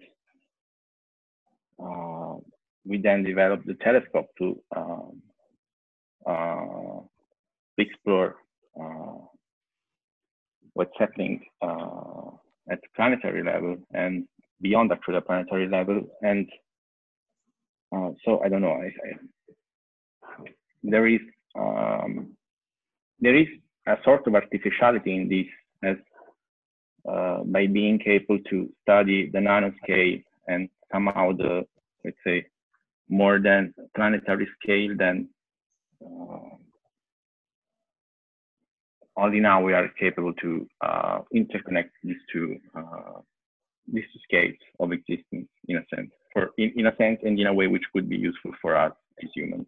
[SPEAKER 3] uh, we then developed the telescope to um, uh, explore uh, what's happening uh, at the planetary level and beyond actually the planetary level. And uh, so I don't know, I, I, there is um, there is a sort of artificiality in this, as uh, by being able to study the nanoscale and somehow the, let's say, more than planetary scale, then uh, only now we are capable to uh, interconnect these two uh, these two scales of existence, in a sense, for in, in a sense and in a way which could be useful for us as humans.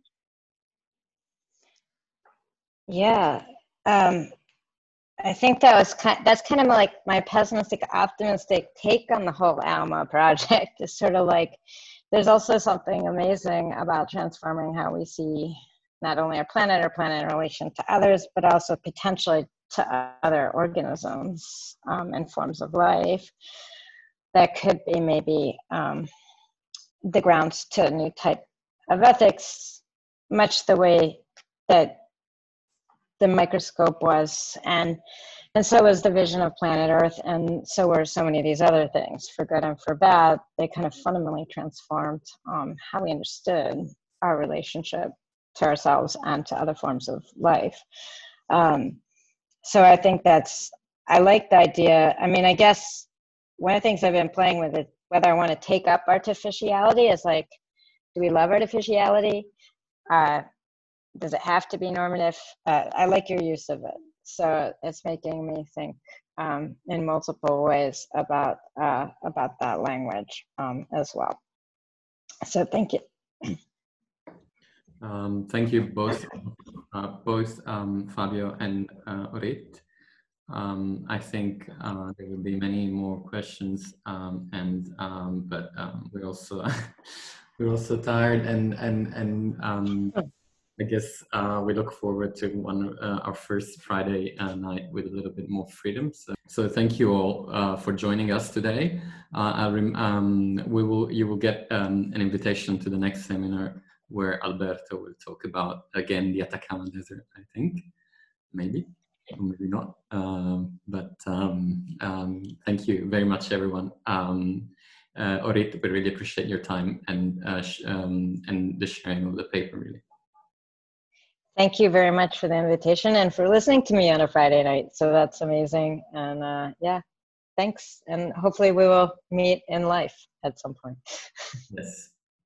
[SPEAKER 2] Yeah, um, I think that was kind. That's kind of like my pessimistic, optimistic take on the whole ALMA project. Is sort of like there's also something amazing about transforming how we see not only our planet or planet in relation to others, but also potentially to other organisms um, and forms of life that could be maybe um, the grounds to a new type of ethics, much the way that the microscope was, and and so was the vision of planet Earth, and so were so many of these other things, for good and for bad. They kind of fundamentally transformed um, how we understood our relationship to ourselves and to other forms of life. Um, so I think that's, I like the idea. I mean, I guess one of the things I've been playing with is whether I want to take up artificiality is like, do we love artificiality? Uh, does it have to be normative? Uh, I like your use of it. So it's making me think um, in multiple ways about, uh, about that language um, as well. So thank you.
[SPEAKER 1] Um, thank you both, uh, both um, Fabio and uh, Orit. Um, I think uh, there will be many more questions, um, and um, but um, we're also we're also tired, and and and um, I guess uh, we look forward to one uh, our first Friday uh, night with a little bit more freedom. So, so thank you all uh, for joining us today. Uh, I'll rem um, we will you will get um, an invitation to the next seminar, where Alberto will talk about, again, the Atacama Desert, I think, maybe, or maybe not. Um, but um, um, thank you very much, everyone. Um, uh, Orit, we really appreciate your time and, uh, sh um, and the sharing of the paper, really.
[SPEAKER 2] Thank you very much for the invitation and for listening to me on a Friday night. So that's amazing. And uh, yeah, thanks. And hopefully we will meet in life at some point.
[SPEAKER 1] Yes.